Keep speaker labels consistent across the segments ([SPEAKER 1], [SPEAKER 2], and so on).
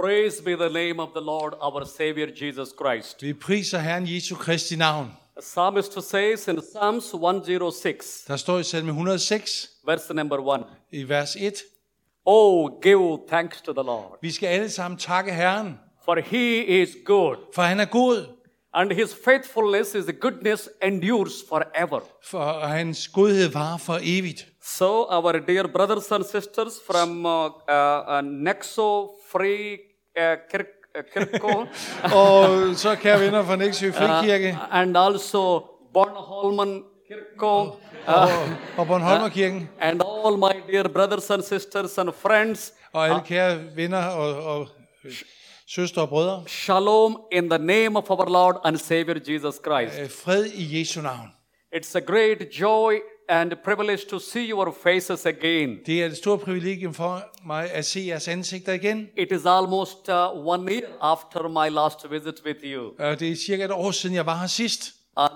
[SPEAKER 1] Praise be the name of the Lord, our Savior Jesus Christ.
[SPEAKER 2] Vi priser Herren Jesu Kristi navn.
[SPEAKER 1] The psalmist says in Psalms 106,
[SPEAKER 2] Der står i salme 106
[SPEAKER 1] verse number 1,
[SPEAKER 2] i vers 1.
[SPEAKER 1] Oh, give thanks to the Lord,
[SPEAKER 2] Vi skal alle sammen takke Herren,
[SPEAKER 1] for He is good,
[SPEAKER 2] for han er god,
[SPEAKER 1] and His faithfulness, His goodness endures forever.
[SPEAKER 2] for hans godhed varer for evigt.
[SPEAKER 1] So, our dear brothers and sisters from Nexo Free Kirko,
[SPEAKER 2] Og så kære venner fra Nexø Frikirke
[SPEAKER 1] and also Bornholmen Kirko,
[SPEAKER 2] og Bornholmerkirken,
[SPEAKER 1] and all my dear brothers and sisters and friends,
[SPEAKER 2] og alle kære venner og søstre og brødre.
[SPEAKER 1] shalom in the name of our Lord and Savior Jesus Christ.
[SPEAKER 2] Fred i Jesu navn.
[SPEAKER 1] It's a great joy and privilege to see your faces again.
[SPEAKER 2] Det er et stort privilegium for mig at se jeres ansigter igen.
[SPEAKER 1] It is almost 1 year after my last visit with you.
[SPEAKER 2] Det er cirka et år siden, jeg var her sidst.
[SPEAKER 1] And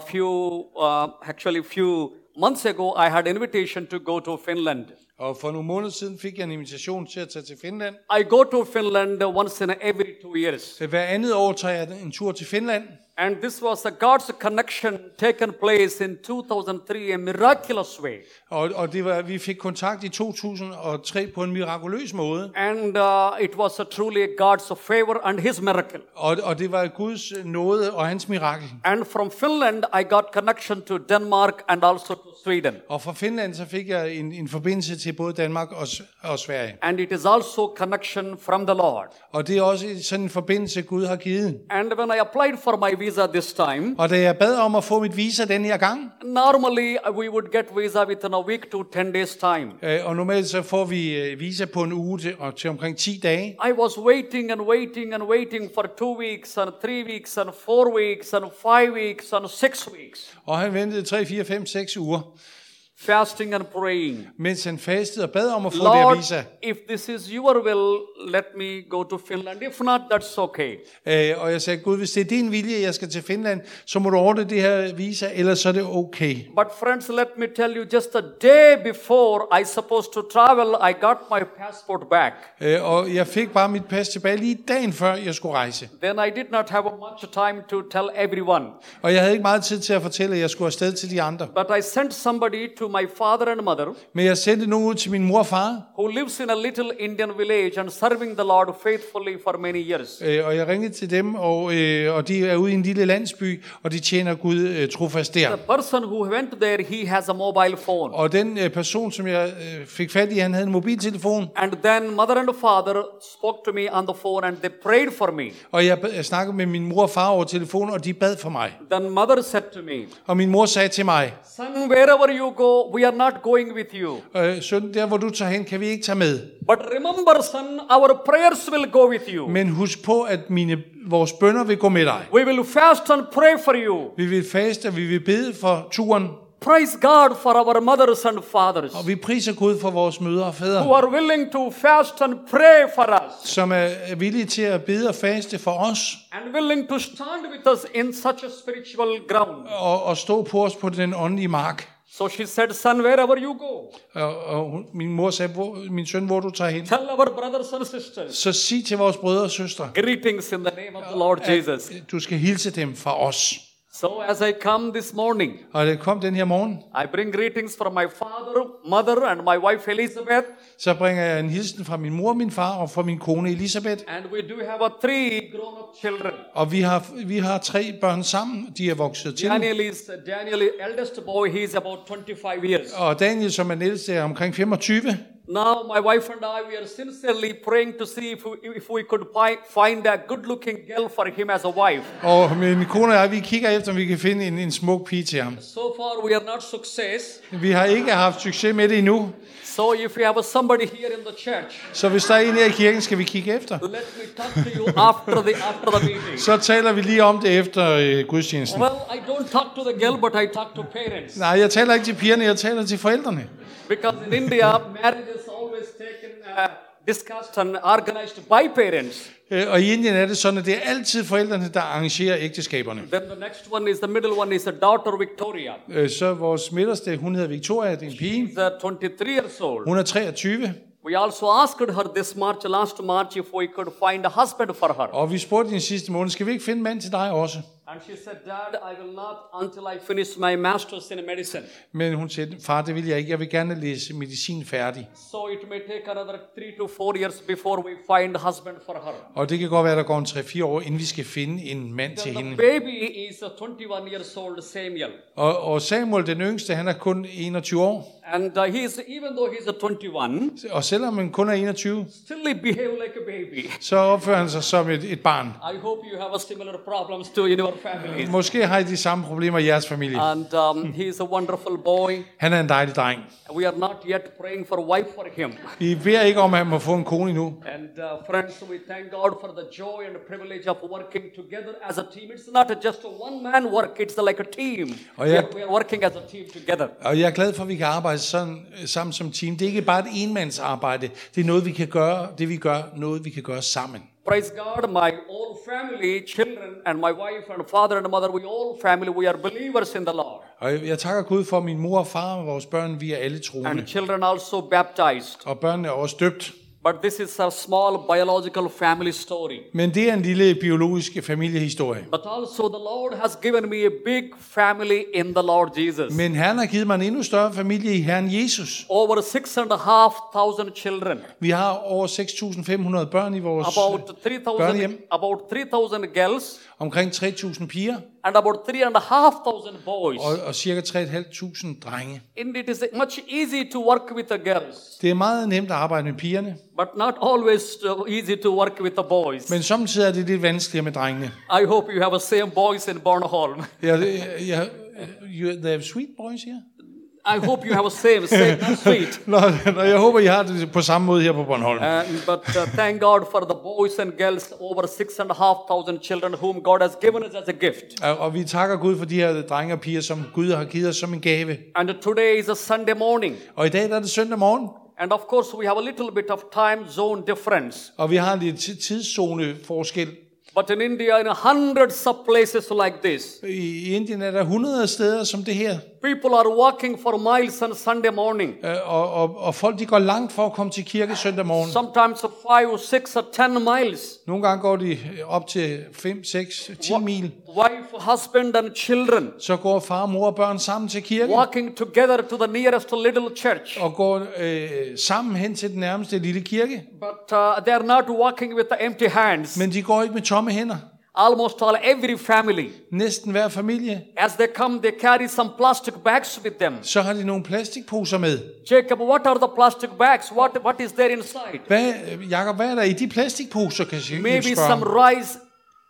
[SPEAKER 1] few months ago, I had invitation to go to Finland.
[SPEAKER 2] Og for nogle måneder siden fik jeg en invitation til at tage til Finland.
[SPEAKER 1] I go to Finland once in every 2 years.
[SPEAKER 2] Hver andet år tager jeg en tur til Finland.
[SPEAKER 1] And this was a God's connection taken place in 2003, a miraculous way.
[SPEAKER 2] Og vi fik kontakt i 2003 på en mirakuløs måde.
[SPEAKER 1] And it was truly God's favor and His miracle.
[SPEAKER 2] Og det var Guds nåde og hans mirakel.
[SPEAKER 1] And from Finland, I got connection to Denmark and also to Sweden.
[SPEAKER 2] Og fra Finland så fik jeg en forbindelse til både Danmark og Sverige.
[SPEAKER 1] And it is also connection from the Lord.
[SPEAKER 2] Og det er også sådan en forbindelse, Gud har givet.
[SPEAKER 1] And when I applied for my visa this time,
[SPEAKER 2] Og da jeg bad om at få mit visa den her gang,
[SPEAKER 1] normally we would get visa within a week to 10 days time.
[SPEAKER 2] og normalt så får vi visa på en uge til omkring 10 dage.
[SPEAKER 1] I was waiting and waiting and waiting for 2 weeks and 3 weeks and 4 weeks and 5 weeks and 6 weeks.
[SPEAKER 2] Og han ventede 3, 4, 5, 6 uger,
[SPEAKER 1] Fasting and praying.
[SPEAKER 2] mens han fastede og bad om at få det her
[SPEAKER 1] Lord,
[SPEAKER 2] visa.
[SPEAKER 1] if this is your will, let me go to Finland. If not, that's okay.
[SPEAKER 2] Og jeg sagde, Gud, hvis det er din vilje, jeg skal til Finland, så må du ordne det her visa, ellers så er det okay.
[SPEAKER 1] But friends, let me tell you, just a day before I supposed to travel, I got my passport back.
[SPEAKER 2] Og jeg fik bare mit pas tilbage lige dagen før jeg skulle rejse.
[SPEAKER 1] Then I did not have much time to tell everyone.
[SPEAKER 2] Og jeg havde ikke meget tid til at fortælle, at jeg skulle afsted til de andre.
[SPEAKER 1] But I sent somebody to my father and mother,
[SPEAKER 2] Men jeg sendte nogen ud til min mor og far,
[SPEAKER 1] who lives in a little Indian village and serving the Lord faithfully for many years.
[SPEAKER 2] og jeg ringede til dem, og de er ude i en lille landsby, og de tjener Gud trofast der.
[SPEAKER 1] The person who went there, he has a mobile phone.
[SPEAKER 2] Og den person, som jeg fik fat i, han havde en mobiltelefon,
[SPEAKER 1] And then mother and father spoke to me on the phone and they prayed for me.
[SPEAKER 2] og jeg snakkede med min mor og far over telefonen, og de bad for mig.
[SPEAKER 1] Then mother said to me,
[SPEAKER 2] Og min mor sagde til mig,
[SPEAKER 1] son, wherever you go, we are not going with you.
[SPEAKER 2] søn, der hvor du tager hen, kan vi ikke tage med.
[SPEAKER 1] But remember, son, our prayers will go with you.
[SPEAKER 2] Men husk på, at vores bønner vil gå med dig.
[SPEAKER 1] We will fast and pray for you.
[SPEAKER 2] Vi vil faste, og vi vil bede for turen.
[SPEAKER 1] Praise God for our mothers and fathers
[SPEAKER 2] Og vi priser Gud for vores mødre og
[SPEAKER 1] who
[SPEAKER 2] fædre,
[SPEAKER 1] are willing to fast and pray for us
[SPEAKER 2] som er villige til at bede og faste for os,
[SPEAKER 1] and willing to stand with us in such a spiritual ground.
[SPEAKER 2] og stå på os på den åndelige mark.
[SPEAKER 1] So she said, son, wherever you go,
[SPEAKER 2] Og min mor sagde, min søn, hvor du tager hen,
[SPEAKER 1] tell our brothers and sisters,
[SPEAKER 2] så sig til vores brødre og søstre,
[SPEAKER 1] greetings in the name of the Lord Jesus.
[SPEAKER 2] at du skal hilse dem fra os.
[SPEAKER 1] So as I come this morning,
[SPEAKER 2] Og det kom den her morgen,
[SPEAKER 1] I bring greetings from my father, mother, and my wife Elizabeth.
[SPEAKER 2] så bringer jeg en hilsen fra min mor, min far og fra min kone Elisabeth.
[SPEAKER 1] And we do have 3 grown-up children.
[SPEAKER 2] Og vi har 3 børn sammen, de er vokset til.
[SPEAKER 1] Daniel, eldest boy, he is about 25 years.
[SPEAKER 2] Og Daniel, som er den ældste, er omkring 25.
[SPEAKER 1] Now my wife and I, we are sincerely praying to see if we could find a good-looking girl for him as a wife.
[SPEAKER 2] Og min kone og jeg, vi kigger efter, om vi kan finde en smuk pige til ham.
[SPEAKER 1] So far we are not success.
[SPEAKER 2] Vi har ikke haft succes med det endnu.
[SPEAKER 1] So if you have somebody here in the church,
[SPEAKER 2] Så hvis der er en her i kirken, skal vi kigge efter.
[SPEAKER 1] let me talk to you after the meeting.
[SPEAKER 2] Så taler vi lige om det efter gudstjenesten.
[SPEAKER 1] Well, I don't talk to the girl, but I talk to parents.
[SPEAKER 2] Nej, jeg taler ikke til pigerne, jeg taler til forældrene.
[SPEAKER 1] Because in India, marriage is always taken, discussed and organized by parents.
[SPEAKER 2] Og i Indien er det sådan, at det er altid forældrene, der arrangerer ægteskaberne.
[SPEAKER 1] Then the next one is the middle one is a daughter Victoria.
[SPEAKER 2] Så vores midterste, hun hedder Victoria, det er en pige.
[SPEAKER 1] She's 23 years old.
[SPEAKER 2] Hun er 23.
[SPEAKER 1] We also asked her this last March, if we could find a husband for her.
[SPEAKER 2] Og vi spurgte den sidste måned, skal vi ikke finde en mand til dig også?
[SPEAKER 1] And she said, Dad, I will not until I finish my master's in medicine.
[SPEAKER 2] Men hun sagde, far, det vil jeg ikke. Jeg vil gerne læse medicin færdig.
[SPEAKER 1] So it may take another 3 to 4 years before we find a husband for her.
[SPEAKER 2] Og det kan godt være, at der går en 3-4 år, inden vi skal finde en mand til
[SPEAKER 1] The
[SPEAKER 2] hende.
[SPEAKER 1] baby is 21 years old, Samuel.
[SPEAKER 2] Og Samuel, den yngste, han er kun 21 år.
[SPEAKER 1] And even though he's 21,
[SPEAKER 2] Og selvom han kun er 21,
[SPEAKER 1] still he behave like a baby.
[SPEAKER 2] så opfører han sig som et barn.
[SPEAKER 1] I hope you have a similar problems too in your families.
[SPEAKER 2] Måske har I de samme problemer i jeres familie.
[SPEAKER 1] And he is a wonderful boy.
[SPEAKER 2] Han er en dejlig dreng.
[SPEAKER 1] We are not yet praying for a wife for him.
[SPEAKER 2] Vi beder ikke om, at han må få en kone endnu.
[SPEAKER 1] And friends, we thank God for the joy and the privilege of working together as a team. It's not just a one-man work, it's like a team.
[SPEAKER 2] Oh, yeah.
[SPEAKER 1] We are working as a team together.
[SPEAKER 2] Og jeg er glad for, at vi kan arbejde sådan, sammen som team. Det er ikke bare et enmandsarbejde. Det er noget, vi kan gøre, noget, vi kan gøre sammen.
[SPEAKER 1] Praise God, my whole family, children, and my wife and father and mother, we all family, we are believers in the Lord.
[SPEAKER 2] Og jeg takker Gud for min mor og far og vores børn, vi er alle troende.
[SPEAKER 1] And children also baptized.
[SPEAKER 2] Og børnene er også døbt.
[SPEAKER 1] But this is a small biological family story.
[SPEAKER 2] Men det er en lille biologisk familiehistorie.
[SPEAKER 1] But also the Lord has given me a big family in the Lord Jesus.
[SPEAKER 2] Men Herren har givet mig en endnu større familie i Herren Jesus.
[SPEAKER 1] Over 6,500 children.
[SPEAKER 2] Vi har over 6.500 børn i vores børnehjem.
[SPEAKER 1] About 3,000 girls.
[SPEAKER 2] Omkring 3.000 piger.
[SPEAKER 1] And about 3,500 boys.
[SPEAKER 2] Og cirka 3.500 drenge.
[SPEAKER 1] And it is much easy to work with the girls.
[SPEAKER 2] Det er meget nemt at arbejde med pigerne.
[SPEAKER 1] But not always easy to work with the boys.
[SPEAKER 2] Men samtidig er det lidt vanskeligere med drengene.
[SPEAKER 1] I hope you have the same boys in Bornholm.
[SPEAKER 2] They have sweet boys here?
[SPEAKER 1] I hope you have a same sweet.
[SPEAKER 2] Nå, jeg håber, I har det på samme måde her på Bornholm.
[SPEAKER 1] But thank God for the boys and girls, over 6,500 children whom God has given us as a gift.
[SPEAKER 2] Og vi takker Gud for de her drenge og piger, som Gud har givet os som en gave.
[SPEAKER 1] And today is a Sunday morning.
[SPEAKER 2] Og i dag er det søndag morgen.
[SPEAKER 1] And of course we have a little bit of time zone difference.
[SPEAKER 2] Og vi har lidt tidszone forskel.
[SPEAKER 1] But in India, in hundreds of places like this,
[SPEAKER 2] I Indien er der 100 steder som det her.
[SPEAKER 1] people are walking for miles on Sunday morning.
[SPEAKER 2] Og folk de går langt for at komme til kirke søndag morgen.
[SPEAKER 1] Sometimes 5, 6 or 10 miles.
[SPEAKER 2] Nogle gange går de op til 5, 6, 10 mil.
[SPEAKER 1] Wife, husband and children.
[SPEAKER 2] Så går far, mor og børn sammen til kirke.
[SPEAKER 1] Walking together to the nearest little church.
[SPEAKER 2] Og går sammen hen til den nærmeste lille kirke.
[SPEAKER 1] But they are not walking with the empty hands.
[SPEAKER 2] Men de går ikke med tomme hænder.
[SPEAKER 1] Almost every family.
[SPEAKER 2] Næsten hver familie.
[SPEAKER 1] As they come, they carry some plastic bags with them.
[SPEAKER 2] Så har de nogle plastikposer med.
[SPEAKER 1] Jacob, what are the plastic bags? What is there inside?
[SPEAKER 2] Jakob, hvad er der i de plastikposer, kan jeg
[SPEAKER 1] Maybe
[SPEAKER 2] spørge?
[SPEAKER 1] some rice.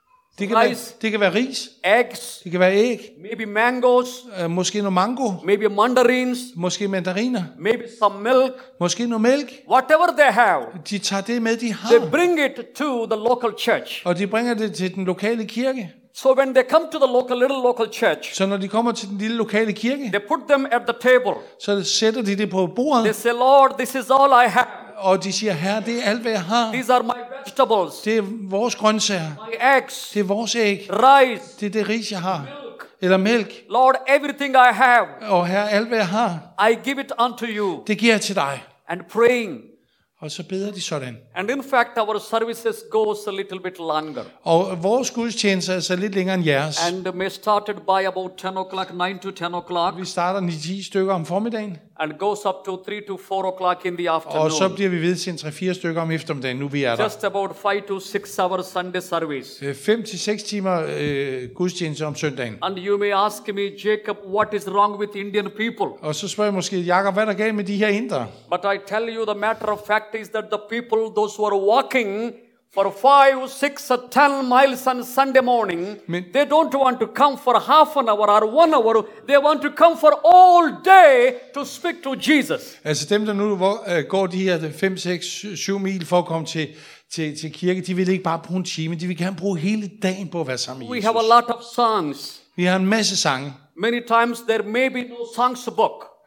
[SPEAKER 2] Det kan være ris.
[SPEAKER 1] Eggs.
[SPEAKER 2] Det kan være æg.
[SPEAKER 1] Maybe mangoes.
[SPEAKER 2] Måske noget mango.
[SPEAKER 1] Maybe mandarins.
[SPEAKER 2] Måske mandariner.
[SPEAKER 1] Maybe some milk.
[SPEAKER 2] Måske noget mælk.
[SPEAKER 1] Whatever they have.
[SPEAKER 2] De tager det med, de har.
[SPEAKER 1] They bring it to the local church.
[SPEAKER 2] Og de bringer det til den lokale kirke.
[SPEAKER 1] So when they come to the little local church,
[SPEAKER 2] så når de kommer til den lille lokale kirke,
[SPEAKER 1] they put them at the table.
[SPEAKER 2] Så sætter de det på bordet.
[SPEAKER 1] They say, Lord, this is all I have.
[SPEAKER 2] Og de siger, Herre, det er alt, hvad jeg har.
[SPEAKER 1] These are my vegetables.
[SPEAKER 2] Det er vores grøntsager.
[SPEAKER 1] My eggs.
[SPEAKER 2] Det er vores æg.
[SPEAKER 1] Rice.
[SPEAKER 2] Det er det ris, jeg har. Eller mælk.
[SPEAKER 1] Lord, everything I have.
[SPEAKER 2] Og Herre, alt, hvad jeg har.
[SPEAKER 1] I give it unto you.
[SPEAKER 2] Det giver jeg til dig.
[SPEAKER 1] And praying.
[SPEAKER 2] Og så beder de sådan.
[SPEAKER 1] And in fact, our services goes a little bit longer.
[SPEAKER 2] Og vores gudstjeneste er så lidt længere end jeres.
[SPEAKER 1] And may started by about 10 o'clock, 9 to 10 o'clock.
[SPEAKER 2] Vi starter 9-10 stykker om formiddagen.
[SPEAKER 1] And goes up to 3 to 4 o'clock in the afternoon.
[SPEAKER 2] Og så bliver vi ved til 3-4 stykker om eftermiddagen, nu vi er der.
[SPEAKER 1] Just about 5 to 6 hours Sunday service.
[SPEAKER 2] 5 til 6 timer gudstjeneste om søndagen.
[SPEAKER 1] And you may ask me, Jacob, what is wrong with Indian people?
[SPEAKER 2] Og så spørger jeg måske, Jakob, hvad er der galt med de her indere?
[SPEAKER 1] But I tell you, the matter of fact is that the people, those who are walking for 5, 6 or 10 miles on Sunday morning, they don't want to come for half an hour or 1 hour. They want to come for all day to speak to Jesus.
[SPEAKER 2] Altså dem, der nu går de her 5, 6, 7 mil for at komme til kirke, de vil ikke bare bruge en time, de vil gerne bruge hele dagen på at være sammen med Jesus.
[SPEAKER 1] We have a lot of songs.
[SPEAKER 2] Vi har en masse sange.
[SPEAKER 1] Many times there may be no songs book.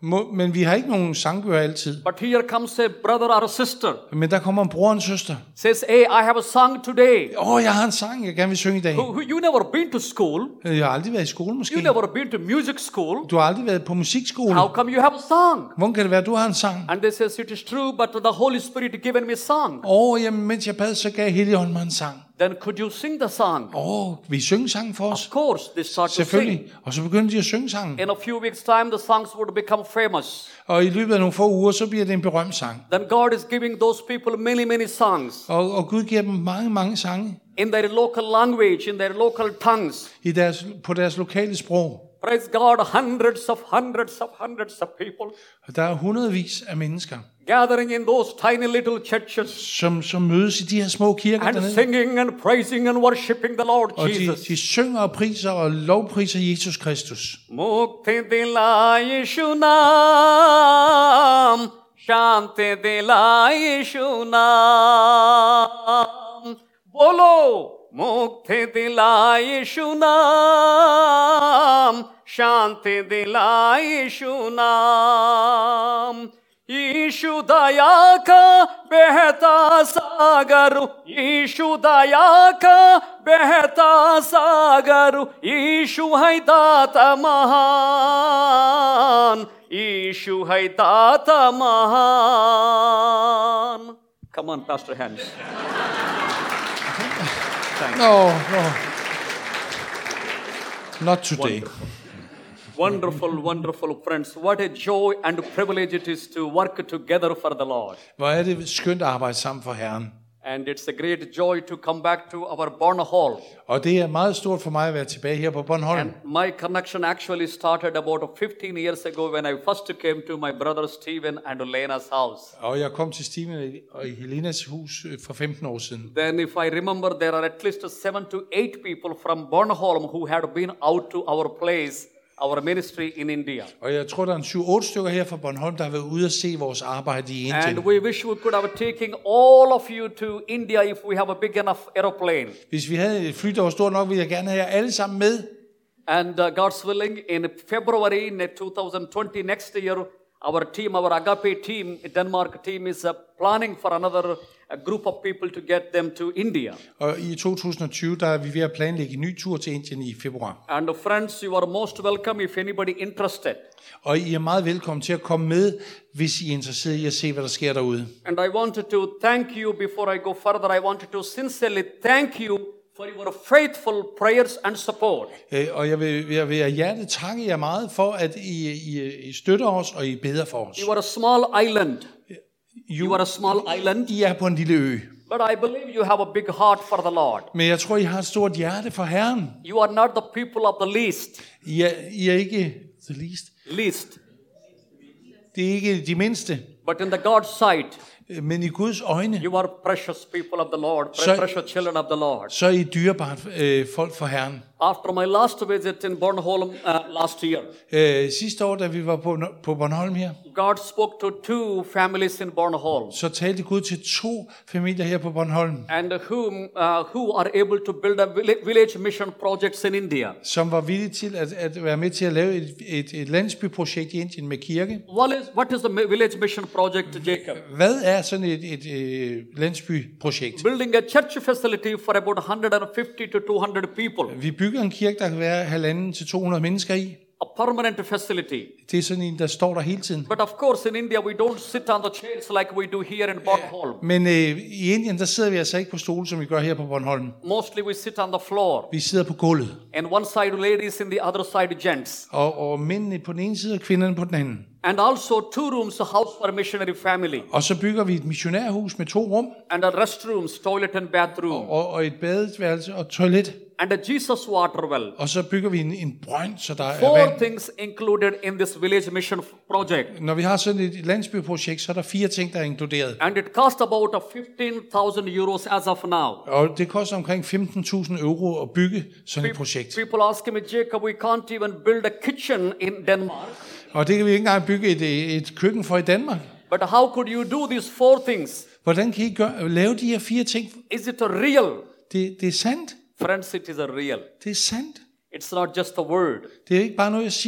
[SPEAKER 2] Men vi har ikke nogen sangbøger altid.
[SPEAKER 1] But here comes a brother or a sister.
[SPEAKER 2] Men der kommer en bror og en søster.
[SPEAKER 1] Says, hey, I have a song today.
[SPEAKER 2] Jeg har en sang, jeg gerne vil synge i dag.
[SPEAKER 1] You never been to school.
[SPEAKER 2] Jeg har aldrig været i skole måske.
[SPEAKER 1] You never been to music school.
[SPEAKER 2] Du har aldrig været på musikskole.
[SPEAKER 1] How come you have a song?
[SPEAKER 2] Hvordan kan det være, at du har en sang?
[SPEAKER 1] And they says, it is true, but the Holy Spirit given me a song.
[SPEAKER 2] Jamen, mens jeg bad, så gav Helligånden mig en sang.
[SPEAKER 1] Then could you sing the song?
[SPEAKER 2] Vi synger sangen for os.
[SPEAKER 1] Of course, they start to
[SPEAKER 2] Selvfølgelig.
[SPEAKER 1] sing.
[SPEAKER 2] Og så begynder de at synge sangen.
[SPEAKER 1] In a few weeks' time, the songs would become famous.
[SPEAKER 2] Og i løbet af nogle få uger, så bliver det en berømt sang.
[SPEAKER 1] Then God is giving those people many, many songs.
[SPEAKER 2] Og Gud giver dem mange, mange sange.
[SPEAKER 1] In their local language, in their local tongues.
[SPEAKER 2] På deres lokale sprog.
[SPEAKER 1] Praise God, hundreds of people.
[SPEAKER 2] Og der er hundredvis af mennesker,
[SPEAKER 1] gathering in those tiny little churches.
[SPEAKER 2] Som mødes i de her små kirker
[SPEAKER 1] and
[SPEAKER 2] dernede.
[SPEAKER 1] Singing and praising and worshiping the Lord
[SPEAKER 2] Og
[SPEAKER 1] Jesus.
[SPEAKER 2] de synger og priser og lovpriser Jesus Kristus.
[SPEAKER 1] Mukti dila Yeshu naam, shanti dila Yeshu naam. Bolo, mukti dila Yeshu naam, shanti dila Yeshu naam. यीशु दया का बहता सागर, यीशु दया का बहता सागर, यीशु है दाता महान, यीशु है दाता महान. Come on, Pastor Hans.
[SPEAKER 2] No. Not today.
[SPEAKER 1] Wonderful friends. What a joy and privilege it is to work together for the Lord.
[SPEAKER 2] Hvor er det skønt at arbejde sammen for Herren.
[SPEAKER 1] And it's a great joy to come back to our Bornholm.
[SPEAKER 2] Og det er meget stort for mig at være tilbage her på Bornholm.
[SPEAKER 1] And my connection actually started about 15 years ago when I first came to my brother Stephen and Lena's house.
[SPEAKER 2] Og jeg kom til Stephen og Helenas hus for 15 år siden.
[SPEAKER 1] Then if I remember, there are at least 7 to 8 people from Bornholm who had been out to our place, our ministry in India.
[SPEAKER 2] Og jeg tror der er 7-8 stykker her fra Bornholm der har været ude at se vores arbejde i Indien.
[SPEAKER 1] And we wish we could have taken all of you to India if we have a big enough aeroplane.
[SPEAKER 2] Hvis vi havde et fly der var stort nok, ville jeg gerne have jer alle sammen med.
[SPEAKER 1] And God's willing, in February in 2020 next year, our team, our Agape team, Denmark team is planning for another group of people to get them to India.
[SPEAKER 2] Og i 2020 der er vi ved at planlægge en ny tur til Indien i februar.
[SPEAKER 1] And friends, you are most welcome if anybody interested.
[SPEAKER 2] Og I er meget velkommen til at komme med, hvis I er interesseret i at se, hvad der sker derude.
[SPEAKER 1] And I wanted to thank you before I go further. I wanted to sincerely thank you for your faithful prayers and support.
[SPEAKER 2] Og jeg vil af hjertet takke jer meget for, at I støtter os, og I beder for os.
[SPEAKER 1] You are a small island. You are a small island.
[SPEAKER 2] I er på en lille ø.
[SPEAKER 1] But I believe you have a big heart for the Lord.
[SPEAKER 2] Men jeg tror, I har et stort hjerte for Herren.
[SPEAKER 1] You are not the people of the least.
[SPEAKER 2] I er ikke the least.
[SPEAKER 1] Least.
[SPEAKER 2] Det er ikke de mindste.
[SPEAKER 1] But in the God's sight,
[SPEAKER 2] men i Guds øjne,
[SPEAKER 1] you are precious people of the Lord, precious children of the Lord.
[SPEAKER 2] Så er I dyrebart folk for Herren.
[SPEAKER 1] After my last visit in Bornholm last year,
[SPEAKER 2] sidste år, da vi var på Bornholm her,
[SPEAKER 1] God spoke to 2 families in Bornholm.
[SPEAKER 2] Så talte Gud til 2 familier her på Bornholm.
[SPEAKER 1] And who are able to build a village mission projects in India.
[SPEAKER 2] Som var villige til at være med til at lave et landsbyprojekt i Indien med kirke.
[SPEAKER 1] What is the village mission project, Jacob?
[SPEAKER 2] Hvad er sådan et landsbyprojekt?
[SPEAKER 1] Building a church facility for about 150 to 200 people.
[SPEAKER 2] Vi bygger en kirke, der kan være 150 til 200 mennesker i.
[SPEAKER 1] A permanent facility.
[SPEAKER 2] Det er sådan en, der står der hele tiden.
[SPEAKER 1] But of course in India we don't sit on the chairs like we do here in Bornholm.
[SPEAKER 2] Men i Indien, der sidder vi altså ikke på stole, som vi gør her på Bornholm.
[SPEAKER 1] Mostly we sit on the floor.
[SPEAKER 2] Vi sidder på gulvet.
[SPEAKER 1] And one side ladies, in the other side gents.
[SPEAKER 2] Og mændene på den ene side, og kvinderne på den anden.
[SPEAKER 1] And also 2 rooms, a house for a missionary family.
[SPEAKER 2] Og så bygger vi et missionærhus med 2 rum.
[SPEAKER 1] And a restrooms, toilet and bathroom.
[SPEAKER 2] Og et badeværelse og toilet.
[SPEAKER 1] And a Jesus water well.
[SPEAKER 2] Og så bygger vi en brønd, så der
[SPEAKER 1] 4
[SPEAKER 2] er vand.
[SPEAKER 1] things included in this village mission project.
[SPEAKER 2] Når vi har sådan et landsbyprojekt, så er der 4 ting, der er inkluderet.
[SPEAKER 1] And it cost about 15,000 euros as of now.
[SPEAKER 2] Og det koster omkring 15.000 euro at bygge sådan et projekt.
[SPEAKER 1] People ask me, Jacob, we can't even build a kitchen in Denmark.
[SPEAKER 2] Og det kan vi ikke engang bygge et køkken for i Danmark.
[SPEAKER 1] But how could you do these 4 things?
[SPEAKER 2] Hvordan kan I lave de her 4 ting?
[SPEAKER 1] Is it real?
[SPEAKER 2] Det er sandt.
[SPEAKER 1] Friends, it is a real.
[SPEAKER 2] Det er sandt.
[SPEAKER 1] It's not just a word.
[SPEAKER 2] Det er ikke bare noget, jeg siger.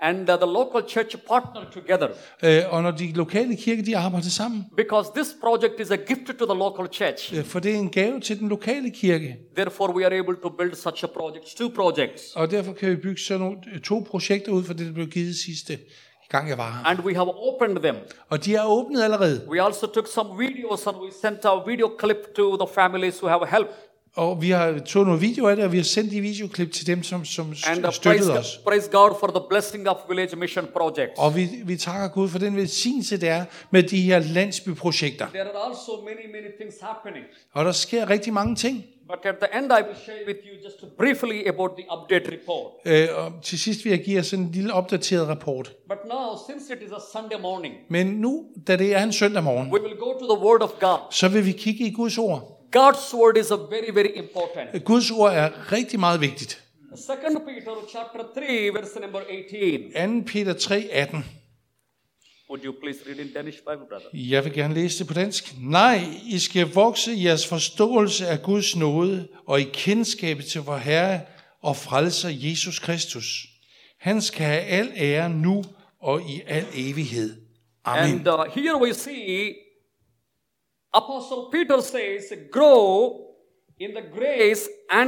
[SPEAKER 1] and the local church partner together.
[SPEAKER 2] Og når de lokale kirker, de arbejder sammen.
[SPEAKER 1] Because this project is a gift to the local church.
[SPEAKER 2] For det er en gave til den lokale kirke.
[SPEAKER 1] Therefore, we are able to build such a project, 2 projects.
[SPEAKER 2] Og derfor kan vi bygge sådan nogle 2 projekter ud for det, der blev givet sidste gang jeg var her.
[SPEAKER 1] And we have opened them.
[SPEAKER 2] Og de er åbnet allerede.
[SPEAKER 1] We also took some videos and we sent a video clip to the families who have helped.
[SPEAKER 2] Og vi har taget nogle videoer af det, og vi har sendt de videoklip til dem, som støttede os.
[SPEAKER 1] Praise God for the blessing of Village Mission Projects.
[SPEAKER 2] Og vi takker Gud for den velsignelse, der er med de her landsbyprojekter.
[SPEAKER 1] There are also many things happening.
[SPEAKER 2] Og der sker rigtig mange ting.
[SPEAKER 1] But at the end, I will share with you just briefly about the update report.
[SPEAKER 2] Og til sidst vil jeg give jer sådan en lille opdateret rapport.
[SPEAKER 1] But now, since it is a Sunday morning,
[SPEAKER 2] Men nu, da det er en søndag morgen,
[SPEAKER 1] we will go to the Word of God.
[SPEAKER 2] så vil vi kigge i Guds ord.
[SPEAKER 1] God's Word is a very important.
[SPEAKER 2] Guds ord er rigtig meget vigtigt.
[SPEAKER 1] 2 Peter chapter 3, verse number 18.
[SPEAKER 2] 2. Peter 3, 18.
[SPEAKER 1] Would you please read in Danish Bible, brother?
[SPEAKER 2] Jeg vil gerne læse det på dansk. Nej, I skal vokse i jeres forståelse af Guds nåde og i kendskabet til vor Herre og frelser Jesus Kristus. Han skal have al ære nu og i al evighed. Amen.
[SPEAKER 1] And here we see Apostle Peter says, grow in the grace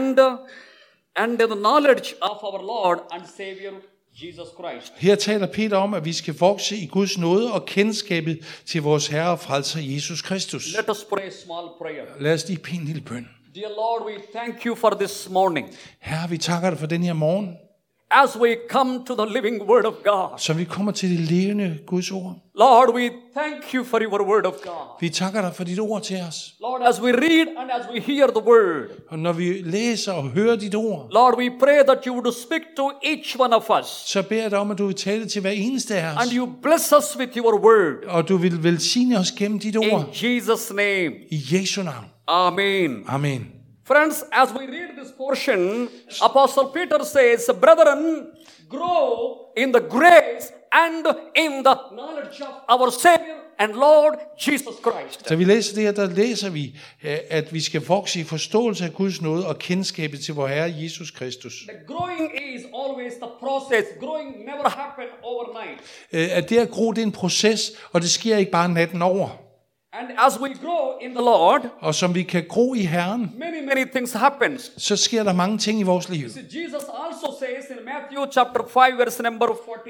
[SPEAKER 1] and the knowledge of our Lord and Savior Jesus Christ.
[SPEAKER 2] Her taler Peter om, at vi skal vokse i Guds nåde og kendskabet til vores Herre og frelser Jesus Kristus.
[SPEAKER 1] Let us pray a small prayer.
[SPEAKER 2] Lad os lige bede en lille bøn.
[SPEAKER 1] Dear Lord, we thank you for this morning.
[SPEAKER 2] Herre, vi takker dig for den her morgen,
[SPEAKER 1] As we come to the living Word of God.
[SPEAKER 2] så vi kommer til det levende Guds ord.
[SPEAKER 1] Lord, we thank you for your Word of God.
[SPEAKER 2] Vi takker dig for dit ord til os.
[SPEAKER 1] Lord, as we read and as we hear the Word.
[SPEAKER 2] Og når vi læser og hører dit ord,
[SPEAKER 1] Lord, we pray that you would speak to each one of us.
[SPEAKER 2] så beder jeg dig om, at du vil tale til hver eneste af os.
[SPEAKER 1] And you bless us with your Word.
[SPEAKER 2] Og du vil velsigne os gennem dit ord.
[SPEAKER 1] In Jesus' name.
[SPEAKER 2] I Jesu navn.
[SPEAKER 1] Amen.
[SPEAKER 2] Amen.
[SPEAKER 1] Friends, as we read this portion, Apostle Peter says, brethren, grow in the grace and in the knowledge of our Savior and Lord Jesus Christ.
[SPEAKER 2] Så vi læser det her, der læser vi, at vi skal vokse i forståelse af Guds nåde og kendskabet til vor Herre Jesus Kristus.
[SPEAKER 1] The growing is always the process. Growing never happen overnight.
[SPEAKER 2] At det at gro, det er en proces, og det sker ikke bare natten over.
[SPEAKER 1] And as we grow in the Lord,
[SPEAKER 2] Og som vi kan gro i Herren,
[SPEAKER 1] many things happens.
[SPEAKER 2] så sker der mange ting i vores liv.
[SPEAKER 1] See, Jesus also says in Matthew chapter 5 verse number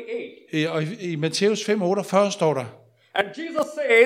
[SPEAKER 1] 48.
[SPEAKER 2] Og i Matthæus 5:48 står der,
[SPEAKER 1] And Jesus says,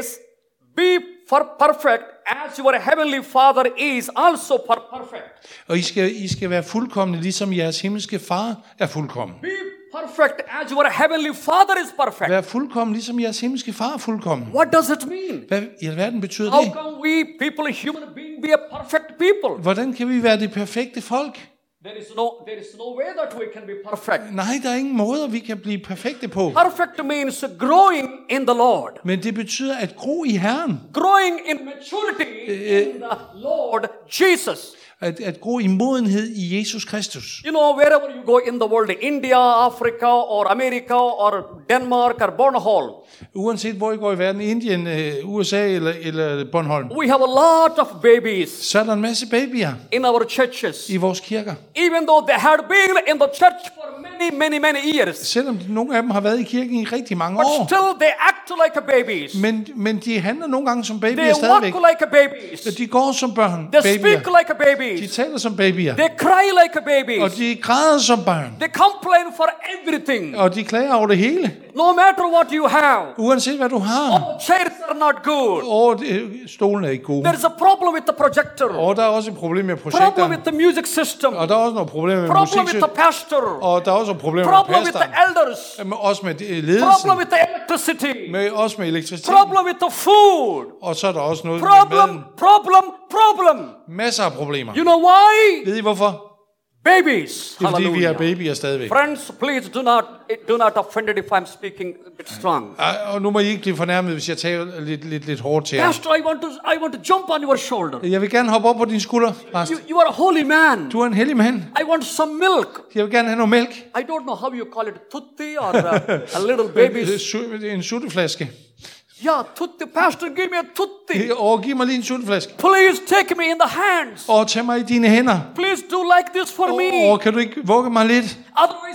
[SPEAKER 1] be perfect as your heavenly Father is also perfect.
[SPEAKER 2] og I skal være fuldkomne, ligesom jeres himmelske far er fuldkommen.
[SPEAKER 1] Be perfect as your heavenly Father is perfect.
[SPEAKER 2] Vær fuldkommen, ligesom jeres himmelske far er fuldkommen.
[SPEAKER 1] What does it mean?
[SPEAKER 2] Hvad i alverden betyder
[SPEAKER 1] How
[SPEAKER 2] det?
[SPEAKER 1] come we people, human being, be a perfect people?
[SPEAKER 2] Hvordan kan vi være det perfekte folk?
[SPEAKER 1] There is no way that we can be perfect.
[SPEAKER 2] Nej, der er ingen måder, vi kan blive perfekte på.
[SPEAKER 1] Perfect means growing in the Lord.
[SPEAKER 2] Men det betyder at gro i Herren.
[SPEAKER 1] Growing in maturity in the Lord Jesus.
[SPEAKER 2] At gro i modenhed i Jesus Kristus.
[SPEAKER 1] You know, wherever you go in the world, India, Africa, or America, or Denmark, or Bornholm.
[SPEAKER 2] Uanset hvor I går i verden, Indien, USA eller Bornholm,
[SPEAKER 1] We have a lot of babies
[SPEAKER 2] så er der en masse babyer
[SPEAKER 1] in our churches.
[SPEAKER 2] i vores kirker.
[SPEAKER 1] Even though they had been in the church for many years.
[SPEAKER 2] Selvom nogle af dem har været i kirken i rigtig mange
[SPEAKER 1] But
[SPEAKER 2] år.
[SPEAKER 1] still they act like a babies.
[SPEAKER 2] Men de handler nogle gange som babyer
[SPEAKER 1] They walk
[SPEAKER 2] stadigvæk.
[SPEAKER 1] like a babies.
[SPEAKER 2] De går som børn,
[SPEAKER 1] They
[SPEAKER 2] babyer.
[SPEAKER 1] speak like a
[SPEAKER 2] De
[SPEAKER 1] babies.
[SPEAKER 2] taler som babyer.
[SPEAKER 1] They cry like a
[SPEAKER 2] Og
[SPEAKER 1] babies.
[SPEAKER 2] de græder som børn.
[SPEAKER 1] They complain for everything.
[SPEAKER 2] Og de klager over det hele.
[SPEAKER 1] No matter what you have.
[SPEAKER 2] Uanset hvad du har.
[SPEAKER 1] Oh, chairs are not good.
[SPEAKER 2] Og stolen er ikke gode.
[SPEAKER 1] There is a problem with the projector.
[SPEAKER 2] Og der er også et problem med
[SPEAKER 1] Problem
[SPEAKER 2] projekterne.
[SPEAKER 1] with the music system.
[SPEAKER 2] Og der er også nogle problemer med
[SPEAKER 1] Problem with
[SPEAKER 2] musik.
[SPEAKER 1] the pastor.
[SPEAKER 2] Og der er også problemer
[SPEAKER 1] Problem
[SPEAKER 2] med
[SPEAKER 1] with the
[SPEAKER 2] pastoren.
[SPEAKER 1] elders.
[SPEAKER 2] Også med
[SPEAKER 1] Problem
[SPEAKER 2] ledelsen.
[SPEAKER 1] with the electricity.
[SPEAKER 2] Også med elektricitet.
[SPEAKER 1] Problem with the food.
[SPEAKER 2] Og så er der også noget med
[SPEAKER 1] Problem,
[SPEAKER 2] maden.
[SPEAKER 1] problem.
[SPEAKER 2] Masser af problemer.
[SPEAKER 1] You know why?
[SPEAKER 2] Ved I hvorfor?
[SPEAKER 1] Babies.
[SPEAKER 2] Det er fordi vi er
[SPEAKER 1] Hallelujah.
[SPEAKER 2] babyer stadigvæk.
[SPEAKER 1] Friends, please do not offended if I'm speaking a bit strong.
[SPEAKER 2] Og nu må I ikke blive fornærmet, hvis jeg taler lidt hårdt til jer.
[SPEAKER 1] Pastor, I want to jump on your shoulder.
[SPEAKER 2] Jeg vil gerne hoppe op på din skulder, Præst.
[SPEAKER 1] You are a holy man.
[SPEAKER 2] Du er en hellig mand.
[SPEAKER 1] I want some milk.
[SPEAKER 2] Jeg vil gerne have noget mælk.
[SPEAKER 1] I don't know how you call it, tutti or a little baby's.
[SPEAKER 2] En sutteflaske.
[SPEAKER 1] Yeah, tutti. Pastor, give me a tutti.
[SPEAKER 2] Og giv mig lige en sutteflaske.
[SPEAKER 1] Please take me in the hands.
[SPEAKER 2] Og tag mig i dine hænder.
[SPEAKER 1] Please do like this for me.
[SPEAKER 2] Og kan du ikke vugge mig lidt?
[SPEAKER 1] Otherwise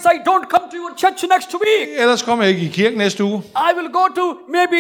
[SPEAKER 1] Otherwise, I don't come to your church next week.
[SPEAKER 2] Ellers kommer jeg ikke i kirken næste uge.
[SPEAKER 1] I will go to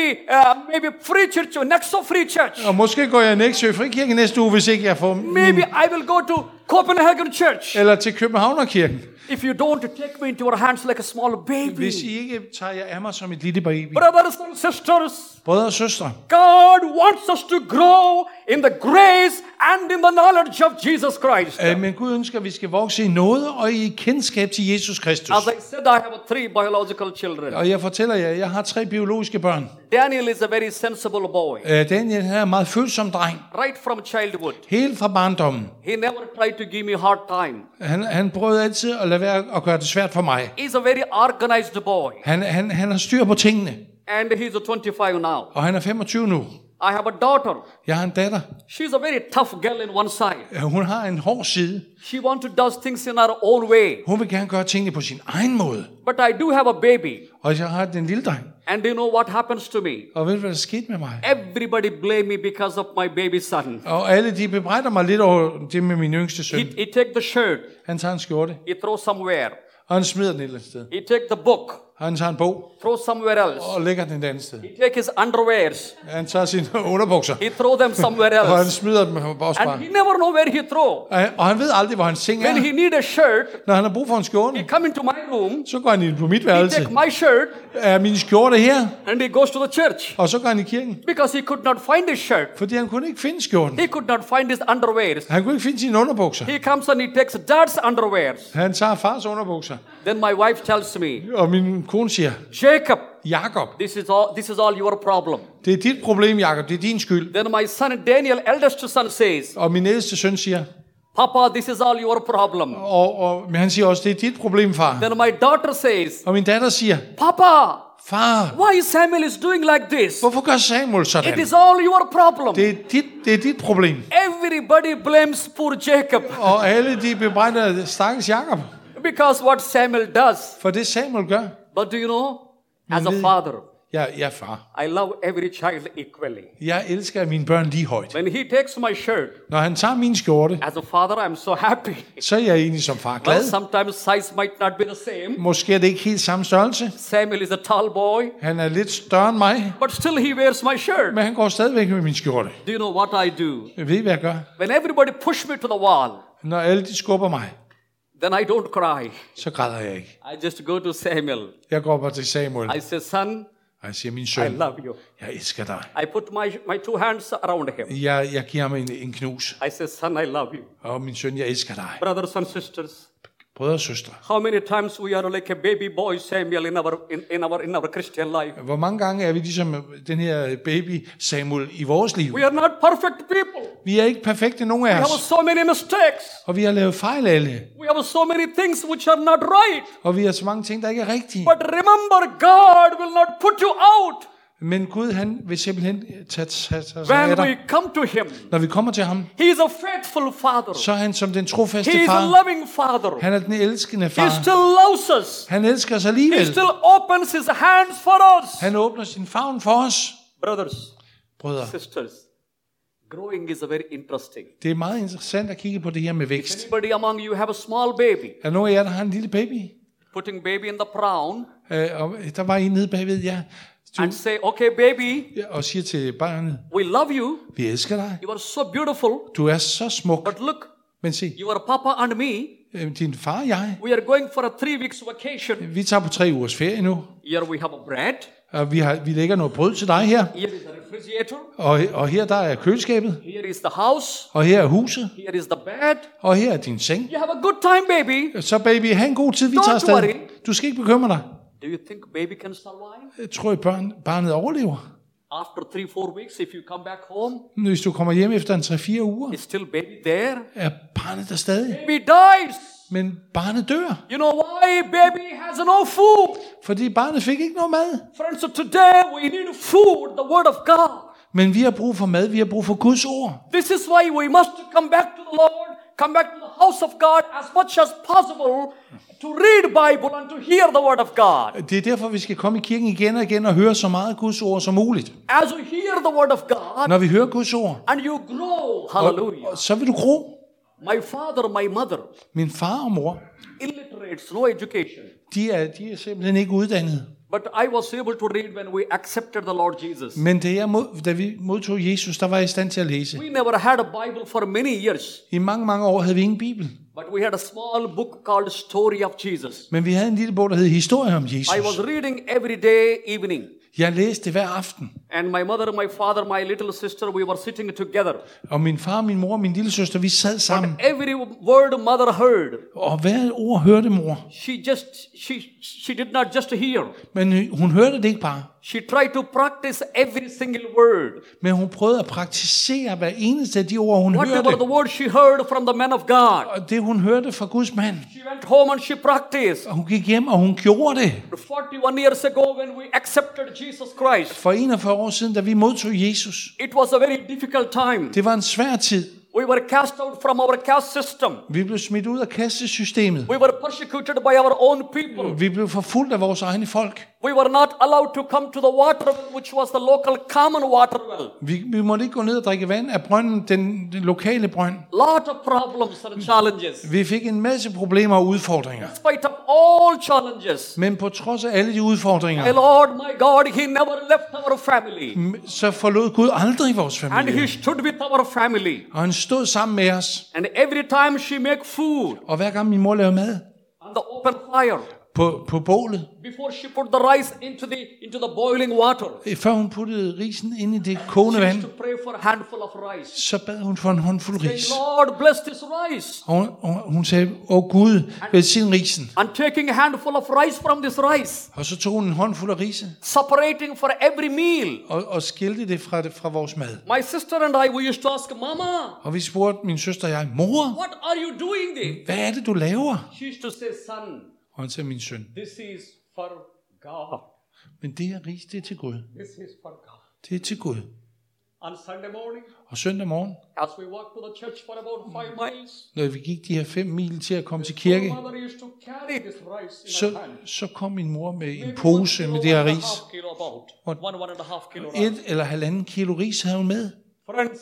[SPEAKER 1] maybe free church or next to free church.
[SPEAKER 2] Og måske går jeg Nexø Frikirke næste uge, hvis ikke jeg får
[SPEAKER 1] Maybe I will go to Copenhagen Church.
[SPEAKER 2] eller til Københavnerkirken.
[SPEAKER 1] If you don't take me into your hands like a small baby.
[SPEAKER 2] Hvis I ikke tager jer af mig som et lille baby.
[SPEAKER 1] Brothers and sisters,
[SPEAKER 2] Brødre og søstre,
[SPEAKER 1] God wants us to grow in the grace and in the knowledge of Jesus Christ.
[SPEAKER 2] men Gud ønsker, at vi skal vokse i nåde og i kendskab til Jesus Kristus.
[SPEAKER 1] As I said, I have 3 biological children.
[SPEAKER 2] Og jeg fortæller jer, jeg har 3 biologiske børn.
[SPEAKER 1] Daniel is a very sensible boy.
[SPEAKER 2] Daniel er en meget følsom dreng.
[SPEAKER 1] Right from childhood.
[SPEAKER 2] Helt fra barndommen.
[SPEAKER 1] He never tried to give me hard time.
[SPEAKER 2] Han prøvede altid at lade være at gøre det svært for mig.
[SPEAKER 1] He's a very organized boy.
[SPEAKER 2] Han har styr på tingene.
[SPEAKER 1] And he's 25 now.
[SPEAKER 2] Og han er 25 nu.
[SPEAKER 1] I have a daughter.
[SPEAKER 2] Jeg har en datter.
[SPEAKER 1] She's a very tough girl in one side.
[SPEAKER 2] Hun har en hård side.
[SPEAKER 1] She wants to do things in her own way.
[SPEAKER 2] Hun vil gerne gøre tingene på sin egen måde.
[SPEAKER 1] But I do have a baby.
[SPEAKER 2] Og jeg har den lille dreng.
[SPEAKER 1] And you know what happens to me?
[SPEAKER 2] Og ved du, hvad der skete med mig?
[SPEAKER 1] Everybody blame me because of my baby son.
[SPEAKER 2] Og alle de bebrejder mig lidt over det med min yngste søn.
[SPEAKER 1] He take the shirt.
[SPEAKER 2] Han tager en skjorte.
[SPEAKER 1] He throw somewhere.
[SPEAKER 2] Og han smider den et eller andet sted.
[SPEAKER 1] He take the book.
[SPEAKER 2] Han tager en bog.
[SPEAKER 1] Throw somewhere else.
[SPEAKER 2] Og lægger den et andet sted.
[SPEAKER 1] He take his underwears.
[SPEAKER 2] Han tager sine underbukser.
[SPEAKER 1] He throw them somewhere
[SPEAKER 2] Og han
[SPEAKER 1] else.
[SPEAKER 2] smider dem også
[SPEAKER 1] And
[SPEAKER 2] bare.
[SPEAKER 1] he never know where he throw.
[SPEAKER 2] Og han ved aldrig, hvor hans seng
[SPEAKER 1] When
[SPEAKER 2] er.
[SPEAKER 1] he need a shirt,
[SPEAKER 2] Når han har brug for en
[SPEAKER 1] he
[SPEAKER 2] skjorte,
[SPEAKER 1] come into my room.
[SPEAKER 2] så går han ind på mit
[SPEAKER 1] He
[SPEAKER 2] værelse.
[SPEAKER 1] take my shirt
[SPEAKER 2] Er min skjorte her?
[SPEAKER 1] and he goes to the church
[SPEAKER 2] Og så går han i kirken.
[SPEAKER 1] because he could not find his shirt.
[SPEAKER 2] Fordi han kunne ikke finde skjorten.
[SPEAKER 1] He could not find his underwears.
[SPEAKER 2] Han kunne ikke finde sine underbukser.
[SPEAKER 1] He comes and he takes dad's underwears.
[SPEAKER 2] Han tager fars underbukser.
[SPEAKER 1] Then my wife tells me,
[SPEAKER 2] Og min kone siger,
[SPEAKER 1] Jacob,
[SPEAKER 2] Jakob,
[SPEAKER 1] this is all your problem.
[SPEAKER 2] det er dit problem, Jakob. Det er din skyld.
[SPEAKER 1] Then my son Daniel, eldest son, says,
[SPEAKER 2] Og min ældste søn siger,
[SPEAKER 1] Papa, this is all your problem.
[SPEAKER 2] men han siger også, det er dit problem, far.
[SPEAKER 1] Then my daughter says,
[SPEAKER 2] Og min datter siger,
[SPEAKER 1] Papa,
[SPEAKER 2] far,
[SPEAKER 1] why Samuel is doing like this?
[SPEAKER 2] hvorfor gør Samuel
[SPEAKER 1] It
[SPEAKER 2] sådan?
[SPEAKER 1] is all your problem.
[SPEAKER 2] Det er dit problem.
[SPEAKER 1] Everybody blames poor Jacob
[SPEAKER 2] Og alle de bebrejder stakkels Jakob.
[SPEAKER 1] because what Samuel does.
[SPEAKER 2] For det Samuel gør.
[SPEAKER 1] But do you know, as a father,
[SPEAKER 2] Jeg er far.
[SPEAKER 1] I love every child equally.
[SPEAKER 2] Jeg elsker mine børn lige højt.
[SPEAKER 1] When he takes my shirt,
[SPEAKER 2] Når han tager min skjorte,
[SPEAKER 1] as a father, I'm so happy.
[SPEAKER 2] så er jeg egentlig som far
[SPEAKER 1] Well,
[SPEAKER 2] glad.
[SPEAKER 1] sometimes size might not be the same.
[SPEAKER 2] Måske er det ikke helt samme størrelse.
[SPEAKER 1] Samuel is a tall boy,
[SPEAKER 2] Han er lidt større end mig,
[SPEAKER 1] but still he wears my shirt.
[SPEAKER 2] men han går stadigvæk med min skjorte.
[SPEAKER 1] Do you know what I do?
[SPEAKER 2] Jeg ved, hvad jeg gør.
[SPEAKER 1] When everybody push me to the wall,
[SPEAKER 2] Når alle de skubber mig,
[SPEAKER 1] then I don't cry.
[SPEAKER 2] så græder jeg ikke.
[SPEAKER 1] I just go to Samuel.
[SPEAKER 2] Jeg går bare til Samuel,
[SPEAKER 1] I say, son,
[SPEAKER 2] og jeg siger, min
[SPEAKER 1] I
[SPEAKER 2] søn,
[SPEAKER 1] love you.
[SPEAKER 2] jeg elsker dig.
[SPEAKER 1] I put my 2 hands around him.
[SPEAKER 2] Jeg giver ham en knus.
[SPEAKER 1] I say, son, I love you.
[SPEAKER 2] Og min søn, jeg elsker dig.
[SPEAKER 1] Brothers and sisters,
[SPEAKER 2] Brødre og søstre.
[SPEAKER 1] how many times we are like a baby boy Samuel in our Christian life?
[SPEAKER 2] Hvor mange gange er vi ligesom den her baby Samuel i vores liv?
[SPEAKER 1] We are not perfect people.
[SPEAKER 2] Vi er ikke perfekte, nogen
[SPEAKER 1] We
[SPEAKER 2] af
[SPEAKER 1] have
[SPEAKER 2] os.
[SPEAKER 1] so many mistakes.
[SPEAKER 2] Og vi har lavet fejl alle.
[SPEAKER 1] We have so many things which are not right.
[SPEAKER 2] Og vi har så mange ting, der ikke er rigtige.
[SPEAKER 1] But remember, God will not put you out
[SPEAKER 2] Men Gud, han vil simpelthen tage sig af
[SPEAKER 1] when
[SPEAKER 2] dig.
[SPEAKER 1] we come to Him.
[SPEAKER 2] Når vi kommer til ham,
[SPEAKER 1] He is a faithful Father.
[SPEAKER 2] så er han som den trofaste
[SPEAKER 1] He is a
[SPEAKER 2] far.
[SPEAKER 1] loving Father.
[SPEAKER 2] Han er den elskende
[SPEAKER 1] He
[SPEAKER 2] far.
[SPEAKER 1] still loves us.
[SPEAKER 2] Han elsker os
[SPEAKER 1] He
[SPEAKER 2] alligevel.
[SPEAKER 1] still opens His hands for us.
[SPEAKER 2] Han åbner sin favn for os.
[SPEAKER 1] Brothers,
[SPEAKER 2] Brødre,
[SPEAKER 1] sisters, growing is a very interesting.
[SPEAKER 2] det er meget interessant at kigge på det her med vækst.
[SPEAKER 1] Anybody among you have a small baby,
[SPEAKER 2] Er der nogen af jer, der har en lille baby?
[SPEAKER 1] putting baby in the crown
[SPEAKER 2] Og der var en nede bagved jer,
[SPEAKER 1] and say, okay, baby,
[SPEAKER 2] og siger til barnet,
[SPEAKER 1] we love you.
[SPEAKER 2] vi elsker dig.
[SPEAKER 1] You are so beautiful.
[SPEAKER 2] Du er så smuk.
[SPEAKER 1] But look,
[SPEAKER 2] Men se,
[SPEAKER 1] your papa and me,
[SPEAKER 2] din far og jeg,
[SPEAKER 1] we are going for a 3 weeks vacation.
[SPEAKER 2] vi tager på 3 ugers ferie nu.
[SPEAKER 1] Here we have a bread.
[SPEAKER 2] Og vi lægger noget brød til dig her.
[SPEAKER 1] Here is the refrigerator.
[SPEAKER 2] Og her der er køleskabet.
[SPEAKER 1] Here is the house.
[SPEAKER 2] Og her er huset.
[SPEAKER 1] Here is the bed.
[SPEAKER 2] Og her er din seng.
[SPEAKER 1] You have a good time, baby.
[SPEAKER 2] Så baby, have en god tid, vi
[SPEAKER 1] Don't
[SPEAKER 2] tager afsted.
[SPEAKER 1] worry.
[SPEAKER 2] Du skal ikke bekymre dig.
[SPEAKER 1] Do you think baby can survive?
[SPEAKER 2] Jeg tror, at barnet overlever.
[SPEAKER 1] After 3-4 weeks, if you come back home,
[SPEAKER 2] Hvis du kommer hjem efter en 3-4 uger,
[SPEAKER 1] is still baby there?
[SPEAKER 2] er barnet der stadig.
[SPEAKER 1] Baby dies.
[SPEAKER 2] Men barnet dør,
[SPEAKER 1] You know why baby has no food?
[SPEAKER 2] fordi barnet fik ikke noget mad.
[SPEAKER 1] Friends, so today we need food, the word of God.
[SPEAKER 2] Men vi har brug for mad, vi har brug for Guds ord.
[SPEAKER 1] This is why we must come back to the Lord, come back to the house of God as much as possible to read Bible and to hear the word of God.
[SPEAKER 2] Det er derfor, vi skal komme i kirken igen og igen og høre så meget Guds ord som muligt.
[SPEAKER 1] As you hear the word of God
[SPEAKER 2] Når vi hører Guds ord,
[SPEAKER 1] and you grow, hallelujah.
[SPEAKER 2] så vil du gro.
[SPEAKER 1] My father, my mother
[SPEAKER 2] Min far og mor
[SPEAKER 1] illiterates, no education.
[SPEAKER 2] De er simpelthen ikke uddannet.
[SPEAKER 1] But I was able to read when we accepted the Lord Jesus.
[SPEAKER 2] Men da vi modtog Jesus, der var jeg i stand til at læse.
[SPEAKER 1] We never had a Bible for many years.
[SPEAKER 2] I mange år havde vi ingen bibel.
[SPEAKER 1] But we had a small book called Story of Jesus.
[SPEAKER 2] Men vi havde en lille bog, der hed Historie om Jesus.
[SPEAKER 1] I was reading every day evening.
[SPEAKER 2] Jeg læste hver aften.
[SPEAKER 1] And my mother, my father, my little sister, we were sitting together.
[SPEAKER 2] Og min far, min mor og min lille søster, vi sad sammen.
[SPEAKER 1] Every word mother heard.
[SPEAKER 2] Og hver ord hørte mor.
[SPEAKER 1] She did not just hear.
[SPEAKER 2] Men hun hørte det ikke bare.
[SPEAKER 1] She tried to practice every single word.
[SPEAKER 2] Men hun prøvede at praktisere hver eneste af de ord, hun hørte.
[SPEAKER 1] Whatever the word she heard from the man of God.
[SPEAKER 2] Og det hun hørte fra Guds mand.
[SPEAKER 1] She went home and she practiced.
[SPEAKER 2] Og hun gik hjem, og hun gjorde det.
[SPEAKER 1] 41 years ago when we accepted Jesus Christ.
[SPEAKER 2] For 41 år siden, da vi modtog Jesus.
[SPEAKER 1] It was a very difficult time.
[SPEAKER 2] Det var en svær tid.
[SPEAKER 1] We were cast out from our caste system.
[SPEAKER 2] Vi blev smidt ud af kastesystemet.
[SPEAKER 1] We were persecuted by our own people.
[SPEAKER 2] Vi blev forfulgt af vores egne folk.
[SPEAKER 1] We were not allowed to come to the water well, which was the local common water well.
[SPEAKER 2] Vi måtte ikke gå ned og drikke vand af brønden, den lokale brønd.
[SPEAKER 1] Lot of problems and challenges.
[SPEAKER 2] Vi fik en masse problemer og udfordringer.
[SPEAKER 1] Despite of all challenges.
[SPEAKER 2] Men på trods af alle de udfordringer,
[SPEAKER 1] My Lord, my God, He never left our family.
[SPEAKER 2] så forlod Gud aldrig vores
[SPEAKER 1] And
[SPEAKER 2] familie.
[SPEAKER 1] He stood with our family.
[SPEAKER 2] Og han stod sammen med os.
[SPEAKER 1] And every time she make food
[SPEAKER 2] Og hver gang min mor lavede mad
[SPEAKER 1] on the open fire,
[SPEAKER 2] på bålet,
[SPEAKER 1] before she put the rice into the boiling water,
[SPEAKER 2] før hun puttede risen ind i det kogende
[SPEAKER 1] she
[SPEAKER 2] vand,
[SPEAKER 1] used to pray for a handful of rice.
[SPEAKER 2] så bad hun for en håndfuld
[SPEAKER 1] Say,
[SPEAKER 2] ris.
[SPEAKER 1] Lord, bless this rice.
[SPEAKER 2] Og hun sagde, Gud, velsign risen.
[SPEAKER 1] And taking a handful of rice from this rice,
[SPEAKER 2] Og så tog hun en håndfuld af rise
[SPEAKER 1] separating for every meal.
[SPEAKER 2] og skilte det fra vores mad.
[SPEAKER 1] My sister and I, we used to ask, Mama,
[SPEAKER 2] Og vi spurgte min søster og jeg, mor,
[SPEAKER 1] what are you doing there?
[SPEAKER 2] hvad er det, du laver?
[SPEAKER 1] She used to say, son,
[SPEAKER 2] Og han sagde, min søn,
[SPEAKER 1] this is for God.
[SPEAKER 2] men det her ris, det er til Gud.
[SPEAKER 1] This is for God.
[SPEAKER 2] Det er til Gud.
[SPEAKER 1] On Sunday morning,
[SPEAKER 2] Og søndag morgen,
[SPEAKER 1] as we walked to the church for about 5 miles,
[SPEAKER 2] når vi gik de her 5 mil til at komme til kirke,
[SPEAKER 1] my mother used to carry this rice in her hand.
[SPEAKER 2] så kom min mor med en pose med det her ris.
[SPEAKER 1] 1.5 kilo about. 1.5 kilo rice.
[SPEAKER 2] 1 eller 1,5 kilo ris havde hun med.
[SPEAKER 1] Friends,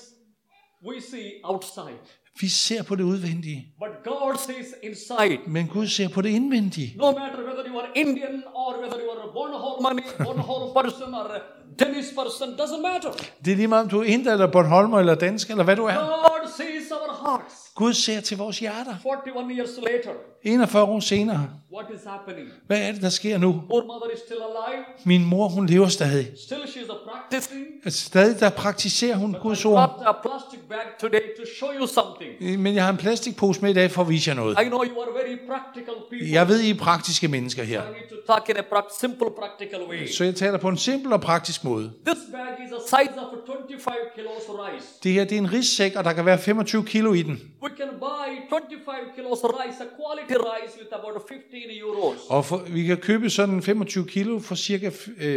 [SPEAKER 1] we see outside,
[SPEAKER 2] Vi ser på det udvendige,
[SPEAKER 1] but God sees inside.
[SPEAKER 2] men Gud ser på det indvendige.
[SPEAKER 1] No matter whether you are Indian or whether you are a Bornholm person or a Danish person, doesn't matter.
[SPEAKER 2] Det er lige meget, om du er inder eller Bornholmer eller dansk eller hvad du er.
[SPEAKER 1] God sees our hearts.
[SPEAKER 2] Gud ser til vores hjerter.
[SPEAKER 1] 41 years later,
[SPEAKER 2] 41 år senere.
[SPEAKER 1] what is happening?
[SPEAKER 2] Hvad er det, der sker nu?
[SPEAKER 1] Our mother is still alive.
[SPEAKER 2] Min mor, hun lever stadig.
[SPEAKER 1] Still she's a practicing.
[SPEAKER 2] Stadig der praktiserer hun Guds
[SPEAKER 1] I
[SPEAKER 2] ord.
[SPEAKER 1] got a plastic bag today to show you something.
[SPEAKER 2] Men jeg har en plastikpose med i dag for at vise jer noget.
[SPEAKER 1] I know you are very practical people.
[SPEAKER 2] Jeg ved, I er praktiske mennesker her.
[SPEAKER 1] I need to talk in a simple practical way.
[SPEAKER 2] Så jeg taler på en simpel og praktisk måde.
[SPEAKER 1] This bag is a size of 25 kilos rice.
[SPEAKER 2] Det her, det er en rissæk, og der kan være 25 kilo i den.
[SPEAKER 1] We can buy 25 kilos rice, a quality rice with about 15 euros.
[SPEAKER 2] Og vi kan købe sådan 25 kilo for cirka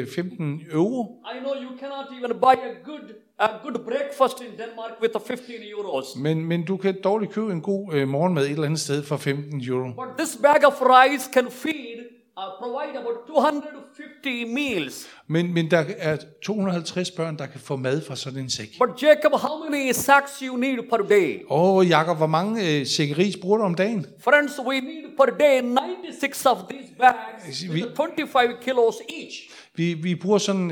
[SPEAKER 2] 15 euro.
[SPEAKER 1] I know you cannot even buy a good breakfast in Denmark with 15 euros.
[SPEAKER 2] Men du kan dårligt købe en god morgenmad et eller andet sted for 15 euro.
[SPEAKER 1] But this bag of rice can provide about 250 meals.
[SPEAKER 2] Men der er 250 børn, der kan få mad fra sådan en sæk.
[SPEAKER 1] But Jacob, how many sacks you need per day?
[SPEAKER 2] Jakob, hvor mange sække ris bruger du om dagen?
[SPEAKER 1] Friends, we need per day 96 of these bags with 25 kilos each.
[SPEAKER 2] Vi bruger sådan